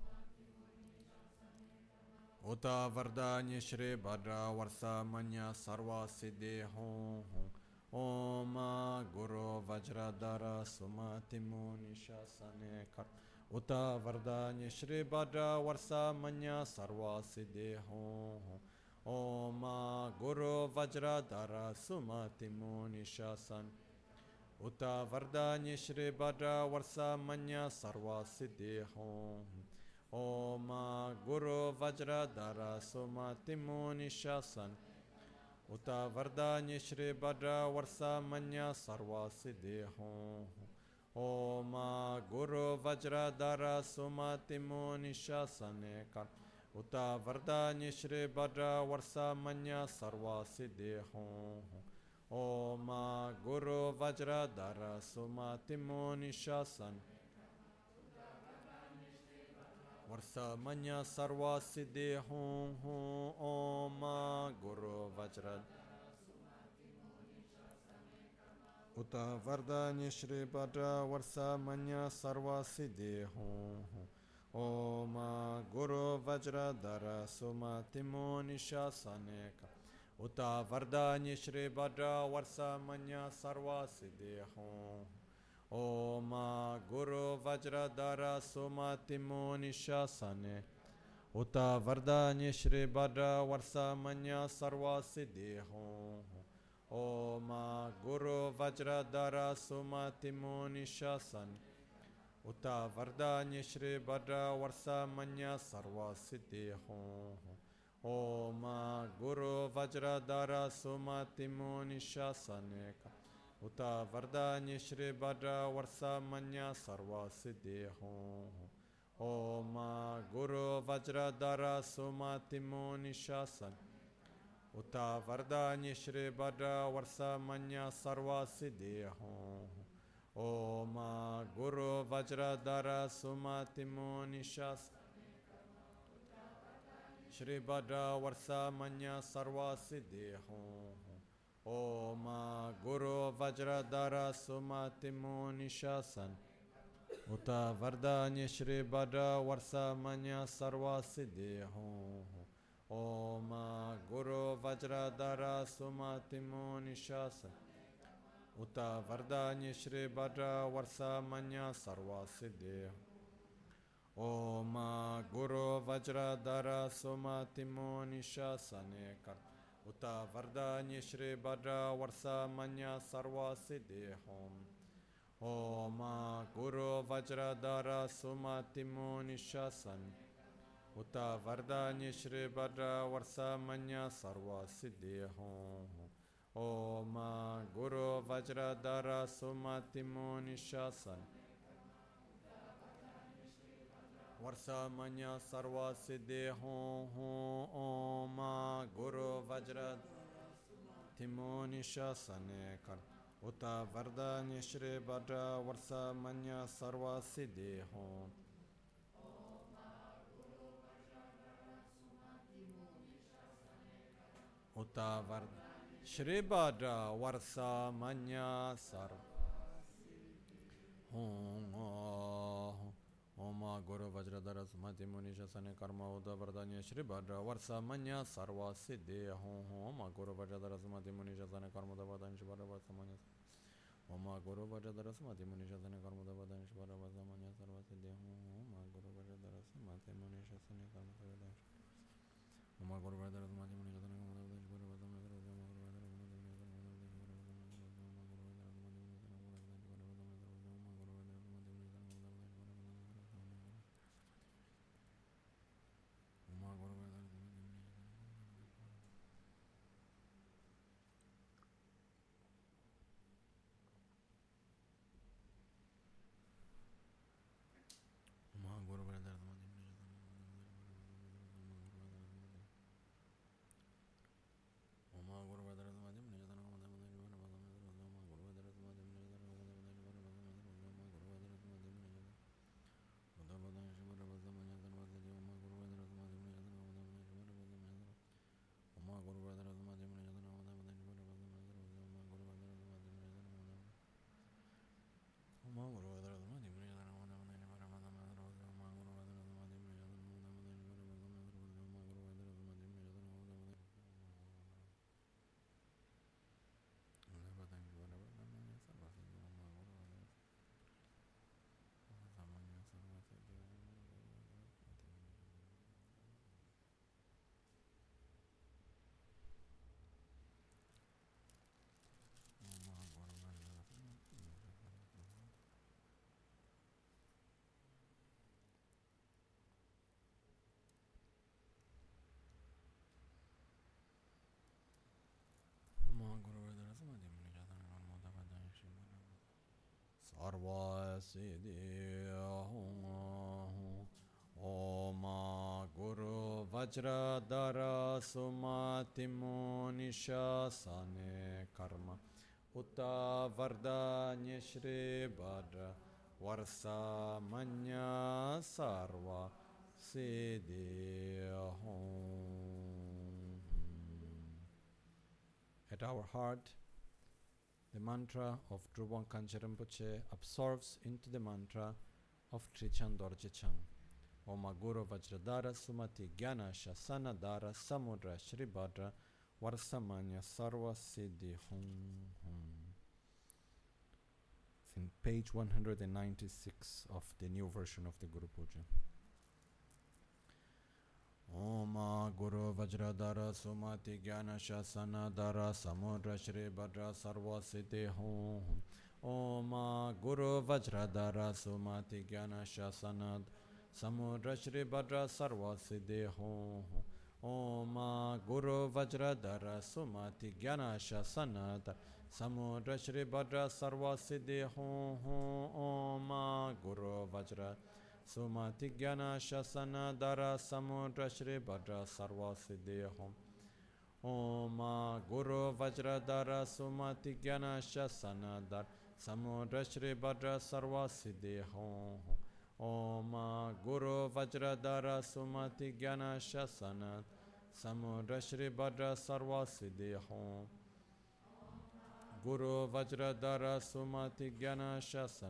Uta Vardhanya Shri Bhadra Varsamanya Sarva Siddhi Om Guru Vajradhara Sumati Muni Shasane Karma Uta Vardhanya Shri Bhadra Varsamanya Sarva Siddhi Om Guru Vajradhara Sumati Muni Shasan Uta Vardhanya Shri Bhadra Varsamanya Sarva Siddhi Om Guru Vajradhara Sumati Muni Shasan Uta Vardhanya Shri Bhadra Varsamanya Sarva Siddhi Om Guru Vajradhara Sumati Muni Shasane Karma Uta Vardhanya Shri Bhadra Varsamanya Sarva Siddhi Om Guru Vajradhara Sumati Muni Shasan Varsamanya Sarva Siddhi Om Guru Vajradhara Uta Vardhanya Shri Bhadra Varsamanya Sarva Siddhi Om Guru Vajradhara Sumati Muni Shasane Uta Vardhanya Shri Bhadra Varsamanya Sarva Siddhi Om Guru Vajradhara Sumati Muni Shasane Uta Vardhanya Shri Bhadra Varsamanya Sarva Siddhi Om Guru Vajradhara Sumati Muni Shasane Uta Vardhanya Shri Bhadra Varsamanya Sarva Siddhi Om Guru Vajradhara Sumati Muni Shasane Uta Vardhanya Shri Bhadra Varsamanya Sarva Siddhi Om Guru Vajradhara Sumati Muni Shasane Uta Vardhanya Shri Bhadra Varsamanya Sarva Siddhi Om Guru Vajradhara Sumati Muni Shasane Shri Bhadra Varsamanya Sarva Siddhi Om Guru Vajradhara Sumati Muni Shasane Uta Vardhanya Shri Bhadra Varsamanya Sarva Siddhi Om Guru Vajradhara Sumati Muni Shasane Uta Vardhanya Shri Bhadra Varsamanya Sarva Siddhi Om Guru Vajradhara Sumati Muni Shasane Uta Vardhanya Shri Bhadra Varsamanya Sarva Siddhi Om Guru Vajradhara Sumati Muni Shasane Uta Vardhanya Shri Bhadra Varsamanya Sarva Siddhi Om Guru Vajradhara Sumati Muni Shasane Varsamanya Sarva Siddhi Om Guru Vajradhara Muni Shasane Uta Vardhanya Shri Bhadra Varsamanya Sarva Siddhi Uta Vardhanya Shri Bhadra Varsamanya Sarva Om Guru Vajradhara Sumati Muni Shasane Karma Uta Vardhanya Shri Bhadra Varsamanya Sarva Siddhi Om Guru Vajradhara Sumati Muni Shasane Karma Uta Vardhanya Shri Bhadra Varsamanya Om Guru Vajradhara Sumati Muni Shasane Karma Uta Vardhanya Shri Bhadra Varsamanya Sarva Siddhi Om Guru Vajradhara Sumati Muni Shasane Karma Uta Vardhanya Om Guru Vajradhara Sumati Muni Shasane Karma Uta Vardhanya Shri Bhadra sarva siddhi hum. Om Guru Vajradhara Sumatimo Nishasane Karma Utta Vardanya Shri Bhadra Varsa Manya Sarva Siddhi Hum. At our heart, the mantra of Drupal Kanchen Rinpoche absorbs into the mantra of Trichan Dorje Chang. Om Guru Vajradhara Sumati Gyana Shasana Dara Samudra Shri Bhadra Varsamanya Sarva Siddhi Hum Hum. It's in page 196 of the new version of the Guru Puja. Om Guru Vajradhara Sumati Gyana Shasana Dara Samudra Shri Bhadra Sarva Siddhi Hum Hum. Om Guru Vajradhara Sumati Gyana Shasana Samudra Shri Bhadra Sarva Siddhi Hum Hum. Om Guru Vajradhara Sumati Gyana Shasana Samudra Shri Bhadra Sarva Siddhi Hum Hum. Om Guru Vajra Sumati Gyana Shasana Dara Samudra Shri Bhadra Sarva Siddhi Hum. Om Guru Vajradhara Sumati Gyana Shasana Dara Samudra Shri Bhadra Sarva Siddhi Hum. Om Guru Vajradhara Sumati Gyana Shasana Samudra Shri Bhadra Sarva Siddhi Hum. Guru Vajradhara Sumati Gyana Shasana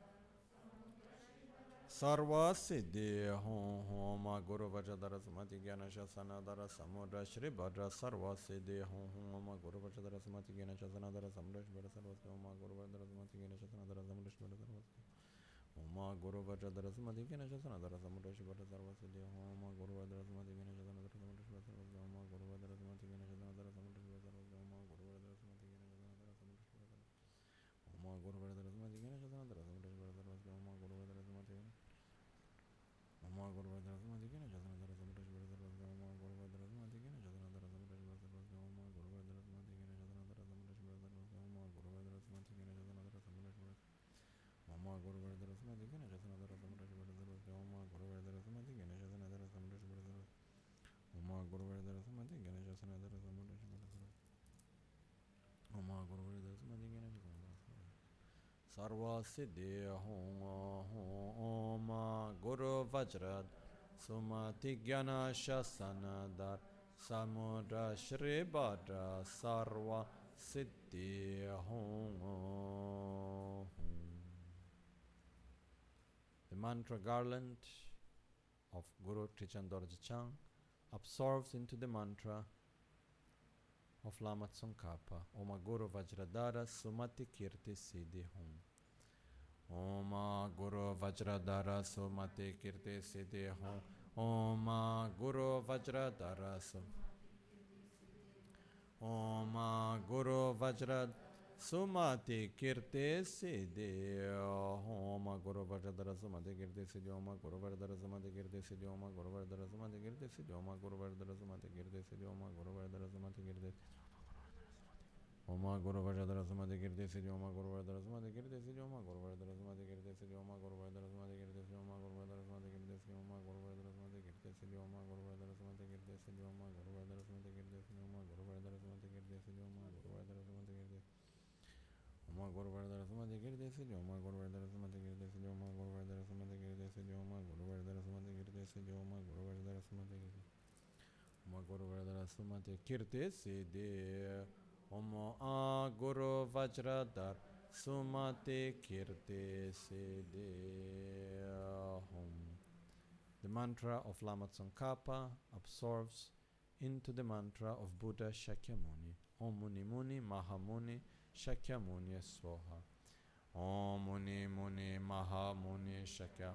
Sarva Siddhi Hum Hum. Guru Vajradhara Sumati Gyana Shasana Dara Samudra Shri Bhadra Sarva Siddhi Hum Hum. Guru Vajradhara Sumati Gyana Shasana Dara Samudra Shri Bhadra Sarva Siddhi Hum. Guru Vajradhara Sumati Gyana Shasana Dara Samudra Shri Bhadra Sarva Siddhi Om Guru Vajradhara Sumati Gyana Shasana Dara Samudra Shri Bhadra Sarva Siddhi Om Guru Vajradhara Sumati Gyana Shasana Dara Samudra Shri Bhadra Sarva Siddhi Om Guru Vajradhara Sumati Gyana Shasana Dara Samudra Shri Bhadra Sarva Siddhi Om Guru Vajradhara Sumati Gyana Shasana Dara Samudra Shri Bhadra Om Guru Vajradhara Sumati Gyana Shasana Dara Samudra Shri Bhadra Sarva Siddhi Om Guru Vajradhara Sumati Gyana Om Guru Vajradhara Sumati Gyana Shasana Dara Samudra Shri Bhadra Sarva Siddhi Om Guru Vajradhara Sumati Gyana Shasana Dara Samudra Shri Bhadra Sarva Siddhi Om Guru Vajradhara Sumati Gyana Shasana Dara Samudra Shri Bhadra Sarva Siddhi Om Guru Vajradhara Sumati Gyana Shasana Dara Samudra Shri Bhadra Om Guru Vajradhara Sumati Gyana Shasana Dara Samudra Shri Bhadra Sarva Siddhi Om Guru Vajradhara Sumati Gyana Shasana Dara Samudra Shri Bhadra Sarva Om Guru Vajradhara Sumati Gyana Shasana Dara Samudra Shri Bhadra Sarva Om Guru Vajradhara Sumati Gyana Shasana Dara Sarva Siddhi Hum Om Guru Vajradhara Sumati Gyana Shasana Dara Samudra Shri Bhadra Sarva Siddhi Hum. The mantra garland of Guru Trichan Dorje Chang absorbs into the mantra of Lama Tsongkhapa. Om Guru Vajradhara Sumati Kirti Siddhi Hum. Om Guru Vajradhara Sumati Kirti Siddhi Hum. Om Guru Vajradhara Om Guru Vajradhara Sumati Kirti Siddhi Om Guru Vajradhara Sumati Kirti Siddhi Om Guru Vajradhara Sumati Kirti Siddhi Om Guru Vajradhara Sumati Kirti Siddhi Om Guru Vajradhara Sumati Kirti Siddhi Om Guru Vajradhara Sumati Kirti Om Guru Vajradhara Sumati Kirti Siddhi Om Guru Vajradhara Sumati Kirti Siddhi Om Guru Vajradhara Sumati Kirti Siddhi Om Guru Vajradhara Sumati Kirti Siddhi Om Guru Vajradhara Sumati Kirti Siddhi Om Guru Vajradhara Sumati Kirti Siddhi Om Guru Vajradhara Sumati Kirti Siddhi Om Guru Vajradhara Sumati Kirti Siddhi Om Guru Vajradhara Sumati Kirti Siddhi Om Guru Vajradhara Sumati Kirti Om Guru Vajradhara Sumati Kirti Siddhi Om Guru Vajradhara Sumati Kirti Siddhi Om Guru Vajradhara Sumati Kirti Siddhi Om Guru Vajradhara Sumati Kirti Siddhi Om Guru Vajradhara Sumati Kirti Om Guru Vajradhara Sumati Kirti Siddhi Om Guru Vajradhara Sumati Kirti Siddhi Hum. The mantra of Lama Tsongkhapa absorbs into the mantra of Buddha Shakyamuni. Om Muni Muni Mahamuni Shakyamuni Swaha. Om Muni Muni Mahamuni Shakyamuni.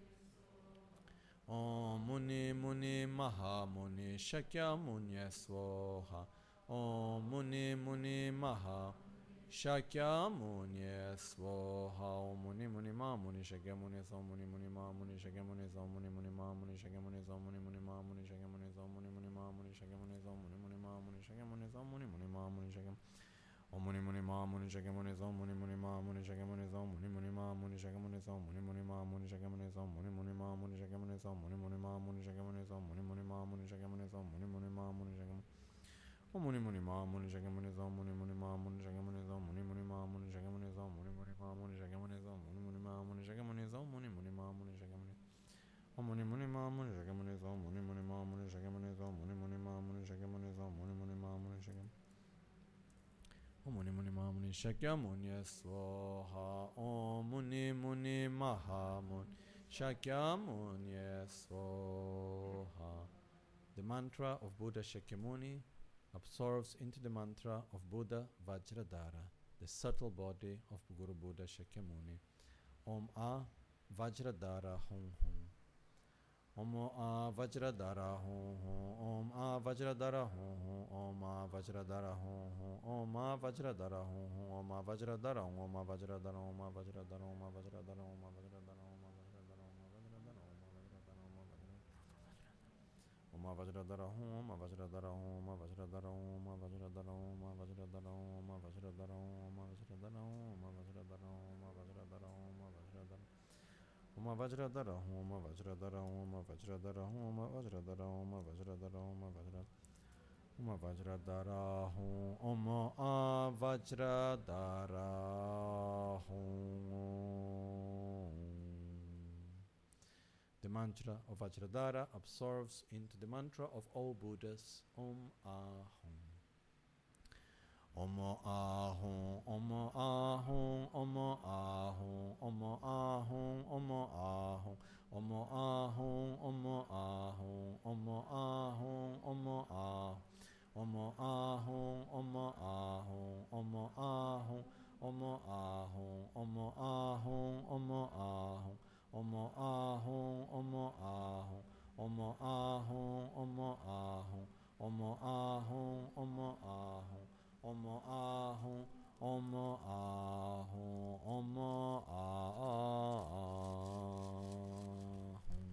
Om Muni Muni Mahamuni Shakyamuni Swaha. Om Muni Muni Maha Shakyamuni Swaha. Om Muni Muni Mahamuni Shakyamuni Swaha. Om Muni Muni Mahamuni Shakyamuni Swaha. Om Muni Muni Mahamuni Shakyamuni Swaha. Om Muni Muni Mahamuni Shakyamuni Swaha. Om Muni Muni Mahamuni Shakyamuni Swaha. Om Muni Muni Mahamuni Shakyamuni Swaha. Om Muni Muni Mahamuni Shakyamuni Swaha. Om Muni Muni Ma Muni Shakyamuni Som Muni Muni Ma Muni Shakyamuni Som Muni Muni Ma Muni Shakyamuni Som Muni Muni Ma Muni Shakyamuni Som Muni Muni Ma Muni Shakyamuni Som Muni Muni Ma Muni Shakyamuni Som Muni Muni Ma Muni Shakyamuni Som Muni Muni Ma Muni Shakyamuni Om Muni Muni Ma Muni Shakyamuni Som Muni Muni Ma Muni Shakyamuni Som Muni Muni Ma Muni Shakyamuni Som Muni Muni Ma Muni Shakyamuni Som Muni Muni Ma Muni Shakyamuni Som Muni Muni Ma Muni Shakyamuni Om Muni Muni Ma Muni Shakyamuni Som Muni Muni Ma Muni Shakyamuni Som Muni Muni Ma Muni Shakyamuni Som Muni Muni Ma Muni Shakyamuni Om Muni Muni Ma Muni Shakyamuni Swaha Om Muni Muni Maha Muni Shakyamuni Swaha. The mantra of Buddha Shakyamuni absorbs into the mantra of Buddha Vajradhara, the subtle body of Guru Buddha Shakyamuni. Om A Vajradhara Hum Hum. Om A Vajradhara Hum Hum. Om A Vajradhara Hum Hum. Om A Vajradhara Hum Hum. Om A Vajradhara Hum Hum. Om A Vajradhara Hum. Om A Vajradhara Om A Vajradhara Om A Vajradhara Om A Vajradhara Om A Vajradhara Hum. Om A Vajradhara Hum. Om A Vajradhara Hum. Om A Vajradhara Hum. Om A Vajradhara Hum. Om A Vajradhara Hum. Om A Vajradhara Hum. Om A Vajradhara Hum. Om A Vajradhara Hum. Om A Vajradhara Om A Vajradhara Hum. Om A Vajradhara Hum. Om A Vajradhara Hum. Om A Vajradhara Hum. Om A Vajradhara Hum. Om A Vajradhara Om A Vajradhara Hum. Om A Vajradhara Hum. The mantra of Vajradhara absorbs into the mantra of all Buddhas. Om Ahum. Om Ahum. Om Ahum. Om Ahum. Om Ahum. Om Ahum. Om Ahum. Om Ahum. Om Ahum. Om Ahum. Om Ahum. Om Ahum. Om Ahum. Om Ahum. Om Ahum. Om Ahum. Om Ahum, Om Ahum, Om Ahum, Om Ahum, Om Ahum, Om Ahum, Om Ahum, Om Ahum, Om Ahum.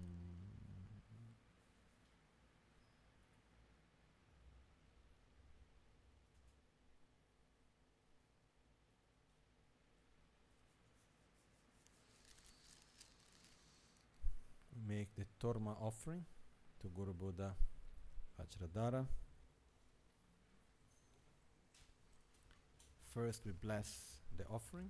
Make the Torma offering to Guru Buddha Vajradhara. First we bless the offering.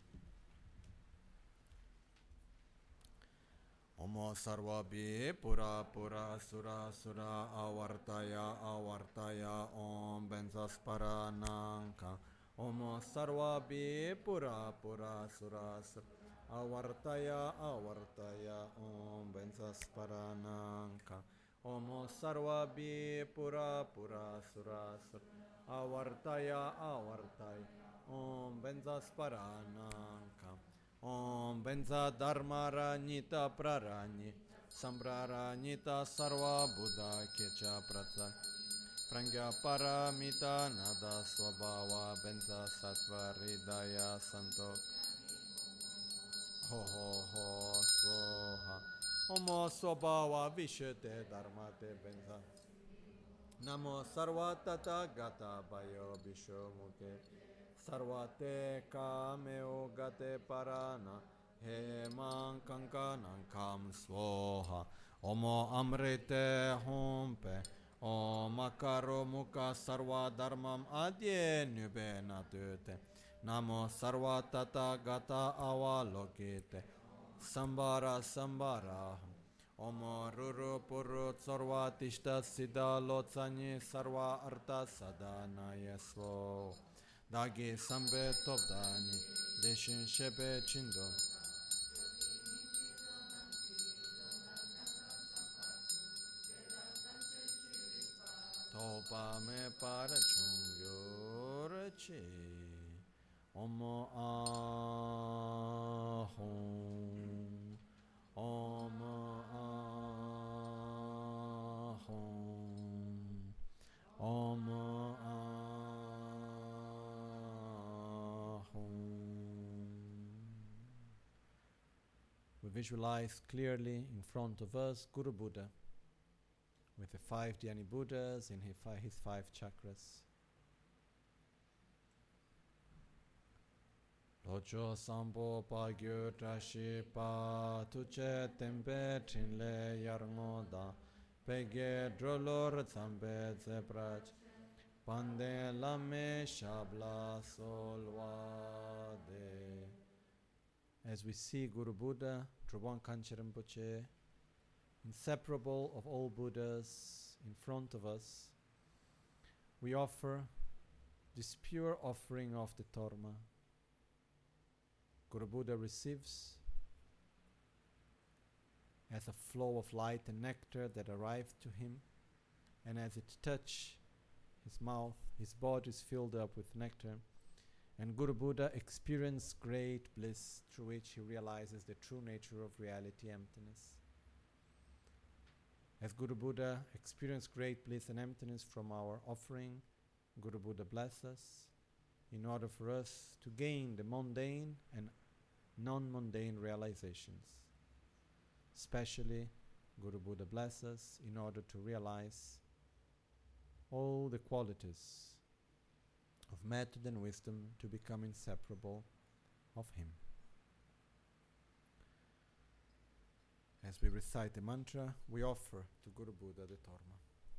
Om Sarva Bhi Pura Pura Sura Sura Avartaya Avartaya Om Benzaspara Nanka Om Sarva Bhi Pura Pura Sura Sura Avartaya Avartaya Om Bensasparananka Om Sarva Bhi Pura Pura Sura Sura Avartaya Avartaya Om Bensasparananka Om Benza Dharma Ranyita Praranyi Sambraranyita Sarva Buddha Kecha Pratsa Prangya Paramita Nada Swabhava Benza Sattva Hridaya Santok Ho ho ho swaha Om Swabhava Vishete Dharmate Benza Namo Sarva Tata Gata Bayo Bisho Mukhe Sarvate Kameo Gate Parana He Man Kankanankam Swaha Om Amrite Humpe Om Akaro Mukha Sarva Dharmam Adye Nube Natute Namo Sarva Tata Gata Avalokite Sambara Sambara Om Ruru Puru Sarva Tishta Siddha Lotsani Sarva Arta Sadana Yeswo Dagi Sambe Tobdani Deshin Shepe Chindo Topa Me Parachung Yorche Om Ahum Om Ahum Om Ahum. We visualize clearly in front of us Guru Buddha with the 5 Dhyani Buddhas in his 5 chakras. Locho sambo pa gyu trashi pa tuche tempe trinle yarngoda pege drolor zambe zebrach pande lame shabla solwade. As we see Guru Buddha, Drupal Kanchen Rinpoche, inseparable of all Buddhas in front of us, we offer this pure offering of the Torma. Guru Buddha receives as a flow of light and nectar that arrives to him, and as it touches his mouth, his body is filled up with nectar, and Guru Buddha experiences great bliss through which he realizes the true nature of reality, emptiness. As Guru Buddha experiences great bliss and emptiness from our offering, Guru Buddha blesses us in order for us to gain the mundane and non-mundane realizations. Especially, Guru Buddha blesses us in order to realize all the qualities of method and wisdom to become inseparable of him. As we recite the mantra, we offer to Guru Buddha the Torma.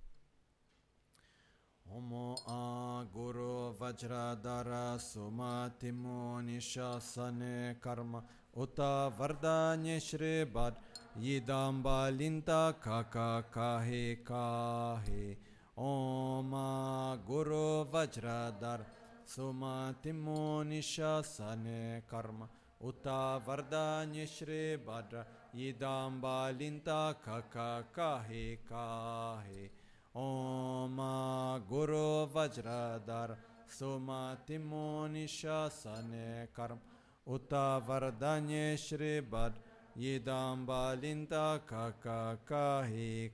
Omo a Guru Vajradhara Sumatimo Nishasane Karma Uta Vardanye Shri Bad Yidamba Linta Kaka Kahi Kahi Om a Guru Vajradhara Sumatimo Nishasane Karma Uta Vardanye Shri Badra Yidamba Linta Kaka Kahi Kahi Om Guru Vajradhara Sumatimo Nishasane Karma Uta Vardanye Shri Bad Yidamba Linta Kaka Kahi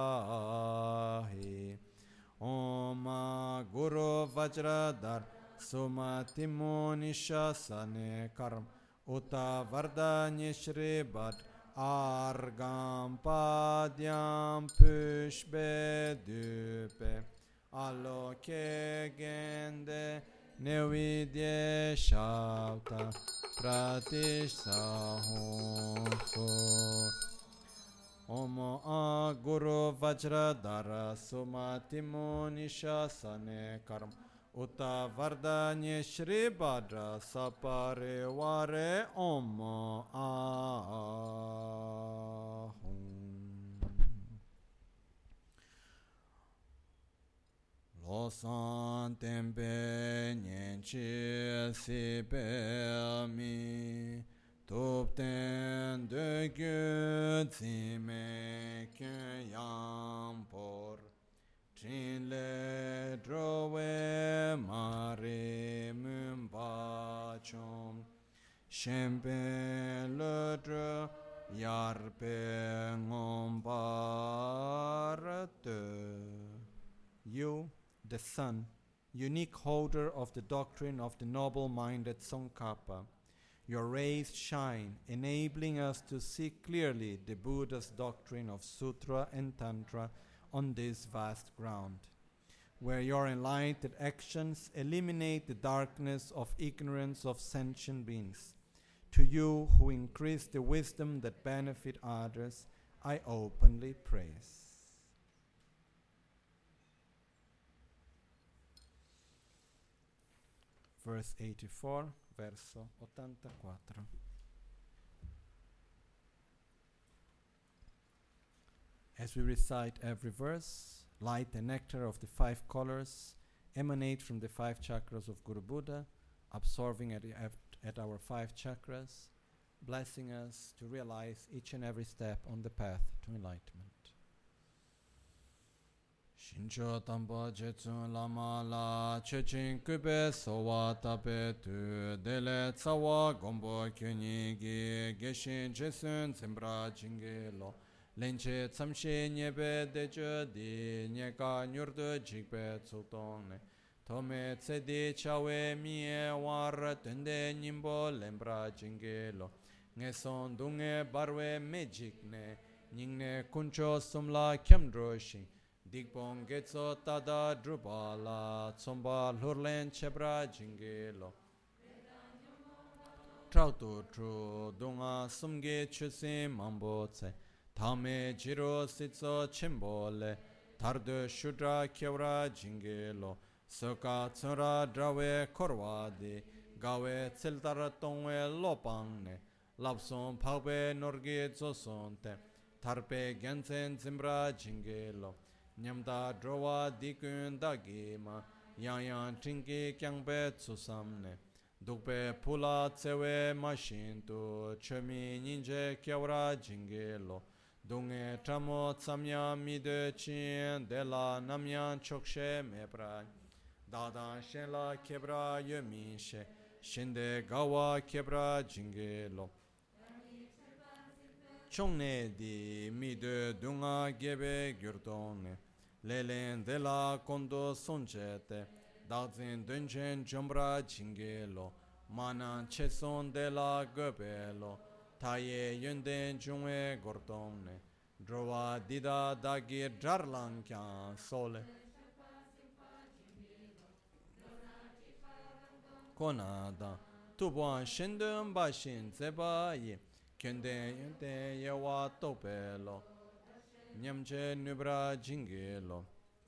Kahi Om Guru Vajradhara Sumatimo Nishasane Karma Uta Vardanye Shri Bad Argam Padyam Pushbe Dupe Aloke Gende Nevidye Shavta Pratishtha Honso Om Guru Vajradhara Sumatimo Nishasane Karma Uta Vardanye Shri Badra Sapare Vare Om Ahum. Losan Tempe Nyenchi Sipe Mi Tupten De Gyut Zime Kyam Por Trinle Drove Mare Mumbachom Shempe Ledre Yarpe Ngombarate. You, the Son, unique holder of the doctrine of the noble-minded Tsongkhapa, your rays shine, enabling us to see clearly the Buddha's doctrine of Sutra and Tantra on this vast ground, where your enlightened actions eliminate the darkness of ignorance of sentient beings. To you who increase the wisdom that benefit others, I openly praise. Verse 84, verso 84. As we recite every verse, light and nectar of the 5 colors emanate from the 5 chakras of Guru Buddha, absorbing at our 5 chakras, blessing us to realize each and every step on the path to enlightenment. Shincho tamba jetsun lama la chechin kube sowa tape tu dele tsawa gombo kyunyi gi geshin jesun zimbra jingelo lenche tsamshe nyebe deje di nyeka nyurdu jikbe tsutongne tome tsedi chawe miye war tende nyimbo lembra jingelo ngeson dunge barwe mejikne nyingne kuncho sumla kyamdroshin Dikpong getso tada drupala tsomba lurlen chebra jingelo trao tu tru dunga sumge chusin mambo tse tame jiro sitso chimbo le tardu shudra kyawra jingi lo soka tsura drawe korwa di gawe tsiltar tongwe lopang ne lapson pagbe norgi zoson te tarpe gensen zimbra jingi lo nyamda drowa dikun dagi ma yang yang chingi kyangbe tsusam ne dukpe pula tsewe mashin tu chemi ninje kyawra jingi lo dunge tramo tsamya mide chin de la namyan chokshe mepra dada shenla kebra yomi she shinde gawa kebra jingi lo chongne di mide dunga gebe gyurtonne lelen de la kondo sonchete dazin dunchen jombra jingi lo manan cheson de la gobe lo taye yunden jungwe gordonne drowa dida dagi jarlang kyan sole konada tubuan shindun bashin zeba yi kyenden yunten yewa tope lo nyamche nubra jingi lo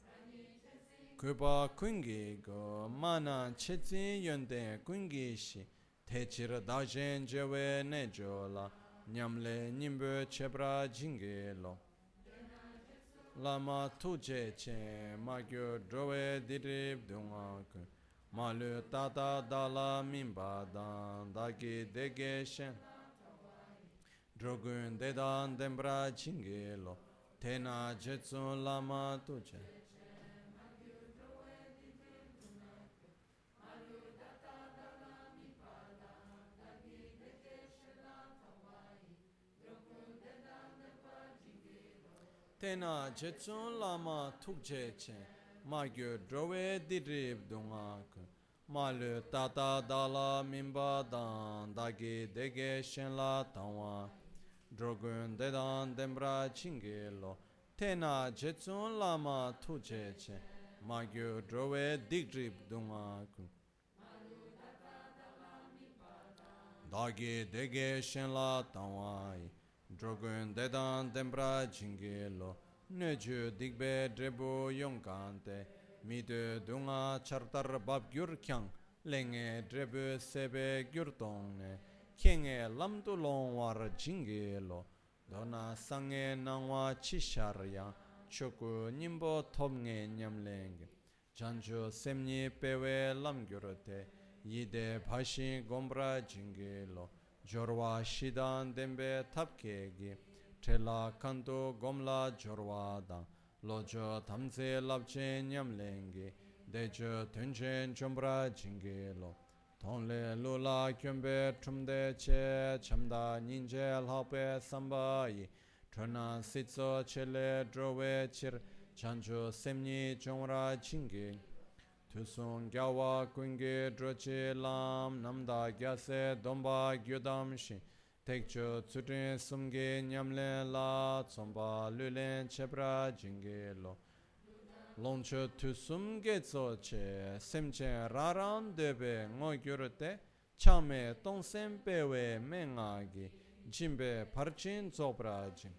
kuba kungi go mana chetsi yonde kungi shi techir dajen jewe ne jola nyamle nimbe chebra jingi lo lama tuje che magyo drowe dirib dunga ku malu tata dala mimba dan dagi dege shen drogun dedan dembra jingi lo tena jetsun lama tuje tena jetsun lama tukje che magyo drowe dirib dunga ku malu tata dala mimba dan dagi dege shen la tangwa drogun dedan dembra chingi lo tena jetsun lama tukje che magyo drowe dirib dunga ku dagi dege shen la tangwa drogun dedan dembra jingelo neju digbe drebu yongkante midu dunga chartar bab gyur kyang lenge drebu sebe gyur tongne kenge lamdu longwar jingelo dona sange nangwa chisharya choku nimbo tomnge nyamlenge janju semni pewe lamgyurate yide bhashi gombra jingelo jorwa shidan dembe tapkegi trela kanto gomla jorwa da lojo tamze labche nyamlengi dejo tunchen chombra jingelo tonle lula kyombe trumde che chamda ninje lhape sambayi trona sitso chele drowe chir chancho semni chongra jingi Tusung gyawa kungi drochi lam namda gyase domba gyudam shi tekcho tsutrin sumgi nyamlen la tsomba lulen chebra jingi lo longcho tusum getso che semchen raram debe ngo gyurute chame tongsem pewe mengagi jimbe parchin zobra jing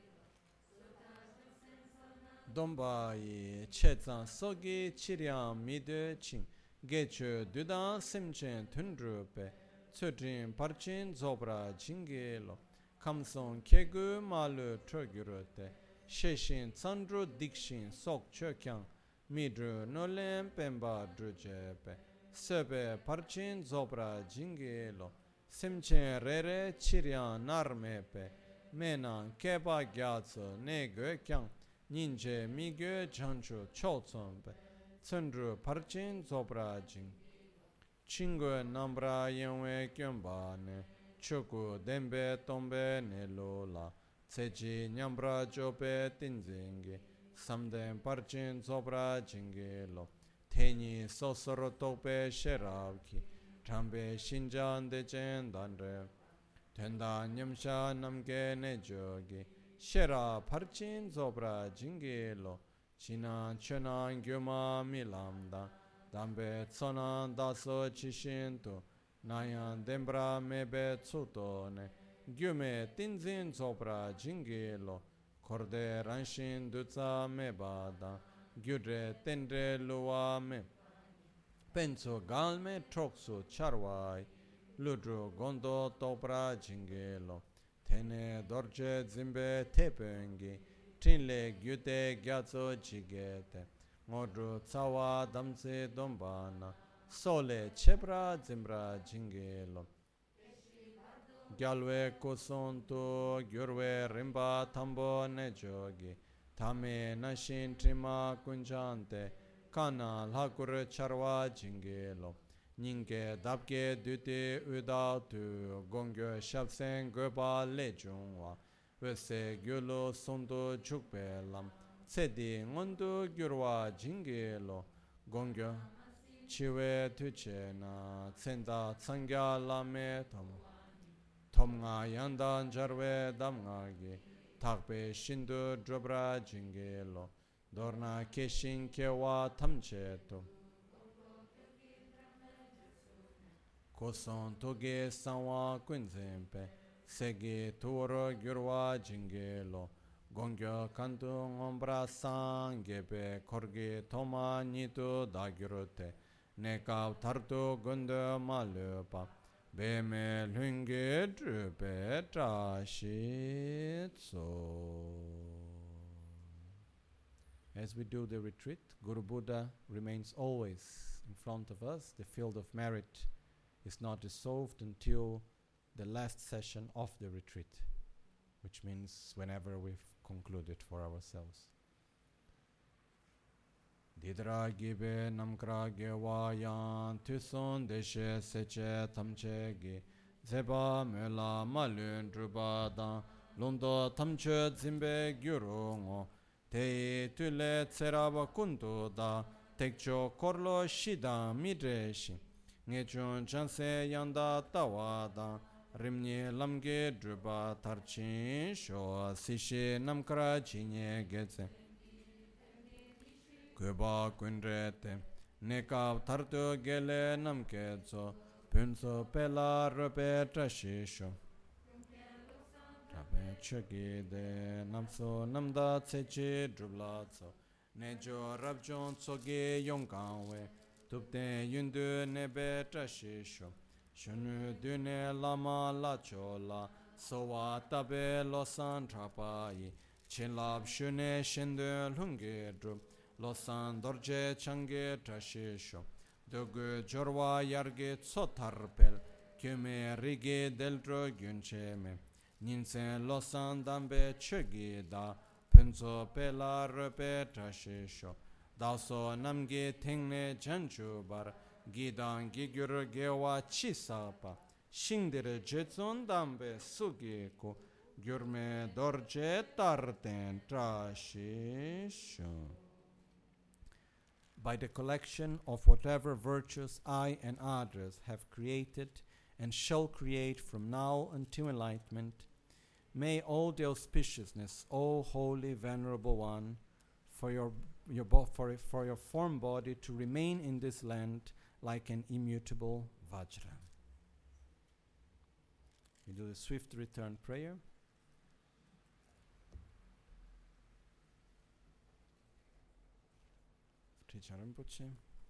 dombayi chezan sogi chiryam midu ching gechu dudan simchen tundrupe tsutrin parchin zobra jingelo kamson kegu malu trogyurute sheshin tsandru dikshin sok chokyang midru nolen pemba drujepe sebe parchin zobra jingelo simchen rere chiryam narmepe menan keba gyatso ne kyang ninje migyo chanchu chotsombe tsundru parchin zobra jing chingo nambra yenwe kyomba ne choku dembe tombe ne lola tseji nyambra jope tinzingi samden parchin zobra jingi lo teni sosoro tope sheravki chambe shinjan dechen danre tenda nyamsha namge ne jogi shera parchin zobra jingelo china chena gyuma milamda dambe tsona daso chishintu Nayan dembra mebe tsutone, gyume tinzin zopra jingilo, korde ranshin dutsa mebada, gyudre tendre luwa me, penso galme troksu charwai, ludru gondo topra jingilo, tene dorje zimbe tepengi, trinle gyute gyatso jigete, ngodru tsawa damse dombana, sole chebra zimbra jingelo gyalwe kusontu gyurwe rimba tambo nejogi tame nashin trima kunjante kana lakur charwa jingelo nyinge dabge dute uda tu gongyo shabsen goba lejungwa wese gyulo sondu chukpe lam tsedi ngondu gyurwa jingelo gongyo chiwe tuche na tsenda tsangya lame tomga yandan jarwe damga gi takpe shindu drobra jingelo dorna keshin kewa tamche to koson toge sanwa kunzempe segi tuoro gyurwa jingelo gongyo kantu ngombra sangebe korgi toma nitu dagyurute Nekav tartu gunda malupa beme lunge drupe trashitso. As we do the retreat, Guru Buddha remains always in front of us. The field of merit is not dissolved until the last session of the retreat, which means whenever we've concluded for ourselves. Didra gibe namkra ge wayan tuson deshe seche tamche ge zeba mela malun drubadan londo tamche zimbe gyurungo te tule tseraba kundu da tekcho korlo shida midreshi ngechun chanse yanda tawada rimni lamge druba tarchin sho sishi namkra chinye geze Kuba kunrete, nekav tartu gele namkezo, punso pela rupe trashisho. Trape chogide, namso namda tsechi drublazo, nejo rabjon tsogi yongkanwe, tupte yundu nebe trashisho. Shunu dune lama la chola, sowa tabe losan trapayi, chinlab shune shindu lungi drub, Losan dorje change trashisho, dogu jorwa yarge tsotarpel, kyume rige deltro gyuncheme, ninsen losan dambe chogi da, penso pela rupe trashisho, daso namge tengne janchubar, gidan gigyur gewa chisapa, shingdere jetson dambe sugiku, gyurme dorje tarten trashisho. By the collection of whatever virtues I and others have created and shall create from now until enlightenment, may all the auspiciousness, O holy venerable one, for your form body to remain in this land like an immutable vajra. We do the swift return prayer. Rinpoche.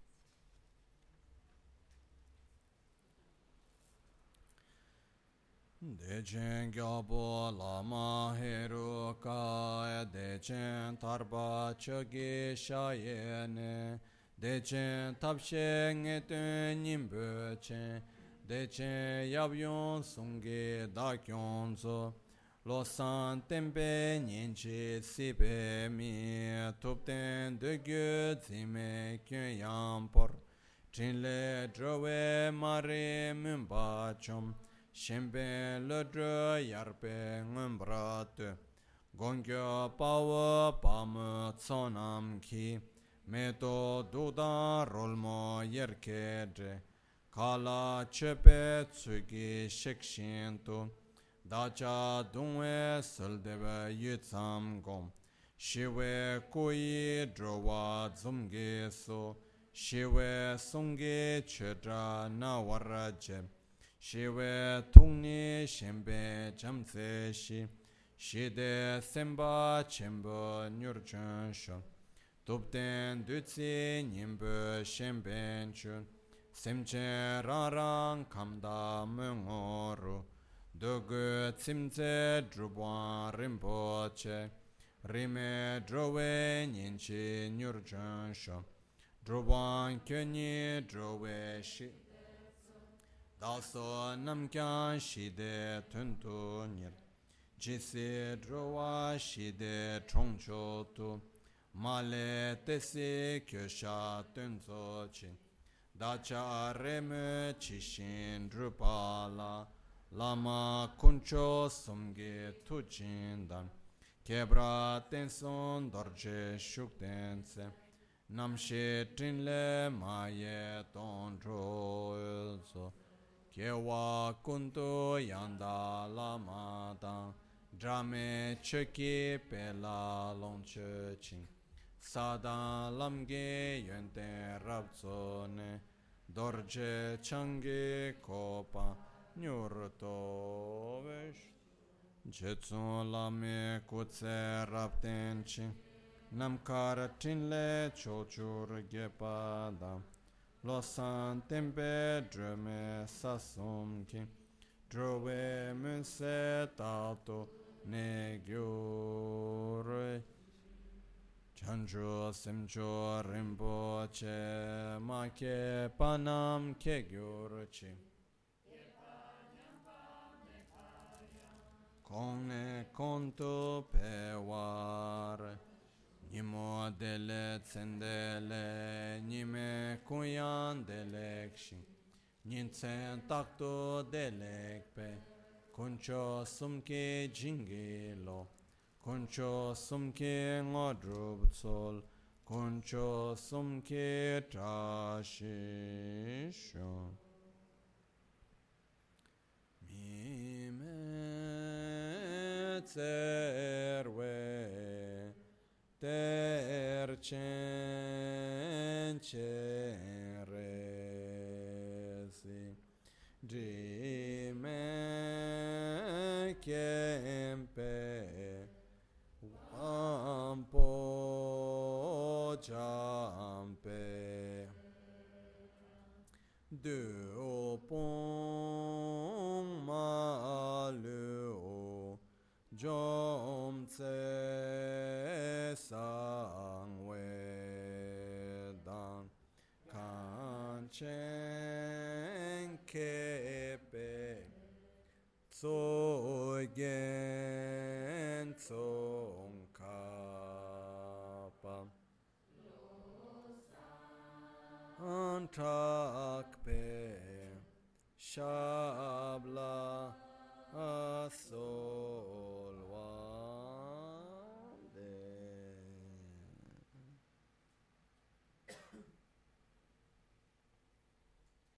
Dechen gyabo lama heru ka dechen tarba chogi shayene dechen tapshe ngetun nimbuche dechen yabyon sungi dakyonzo Losan tempe nyenchi sipe mi tupten de gyu zime kyun yampor Chinle drowe mare mumba chom Shembe le dro yarpe ngumbrat Gongyo pawa pam tsonam ki Meto duda rolmo yerkedre Kala chepe tsugi shekshintu Dacha dungwe saldebe yutsam gom Shiwe kuyi drowa zumge so Shiwe sunge chedra na waraje Shiwe tungni shembe jamtse shi Shide semba chembo nyurchun shon Tupten dutsi nyimbo shemben chun Semche rarang kamda mungoru Dogu tsimtse drubwan rimpoche Rime drowe nyinchi nyurchun shon Drubwan kyunyi drowe shi Daso namkyan shide tuntu nir Jisi drowa shide chongcho tu Male tesi kyosha tunso chi Dacha reme chishin drupala Lama kuncho sumgi tuchindan Kebra tenson dorje shuktense Namshi trinle maye tondro so Kewa kuntu yanda lama dang Drame cheki pela longche ching Sadan lamge yente rabzone Dorje changi kopa nyurto vesh Jetsun lame kutse rabten ching Namkar tinle chochur gepada Losan tempe drume sasum ki Drove munse tato ne gyure Chancho simcho rimpoche Ma ke panam ke gyurchi Kone konto peware Nimo dele tsendele, nime kuyan delekshi, nintsen takto delekpe, kuncho sumke jingilo, kuncho sumke ngodrubtsol, kuncho sumke trashisho. Mime tserwe. Tercen ceresi Dime kempe Ampo jampe Duopong malu Jomtse sangwedan Kanchen kepe Tsogen tsongkapa Antrakpe Shabla aso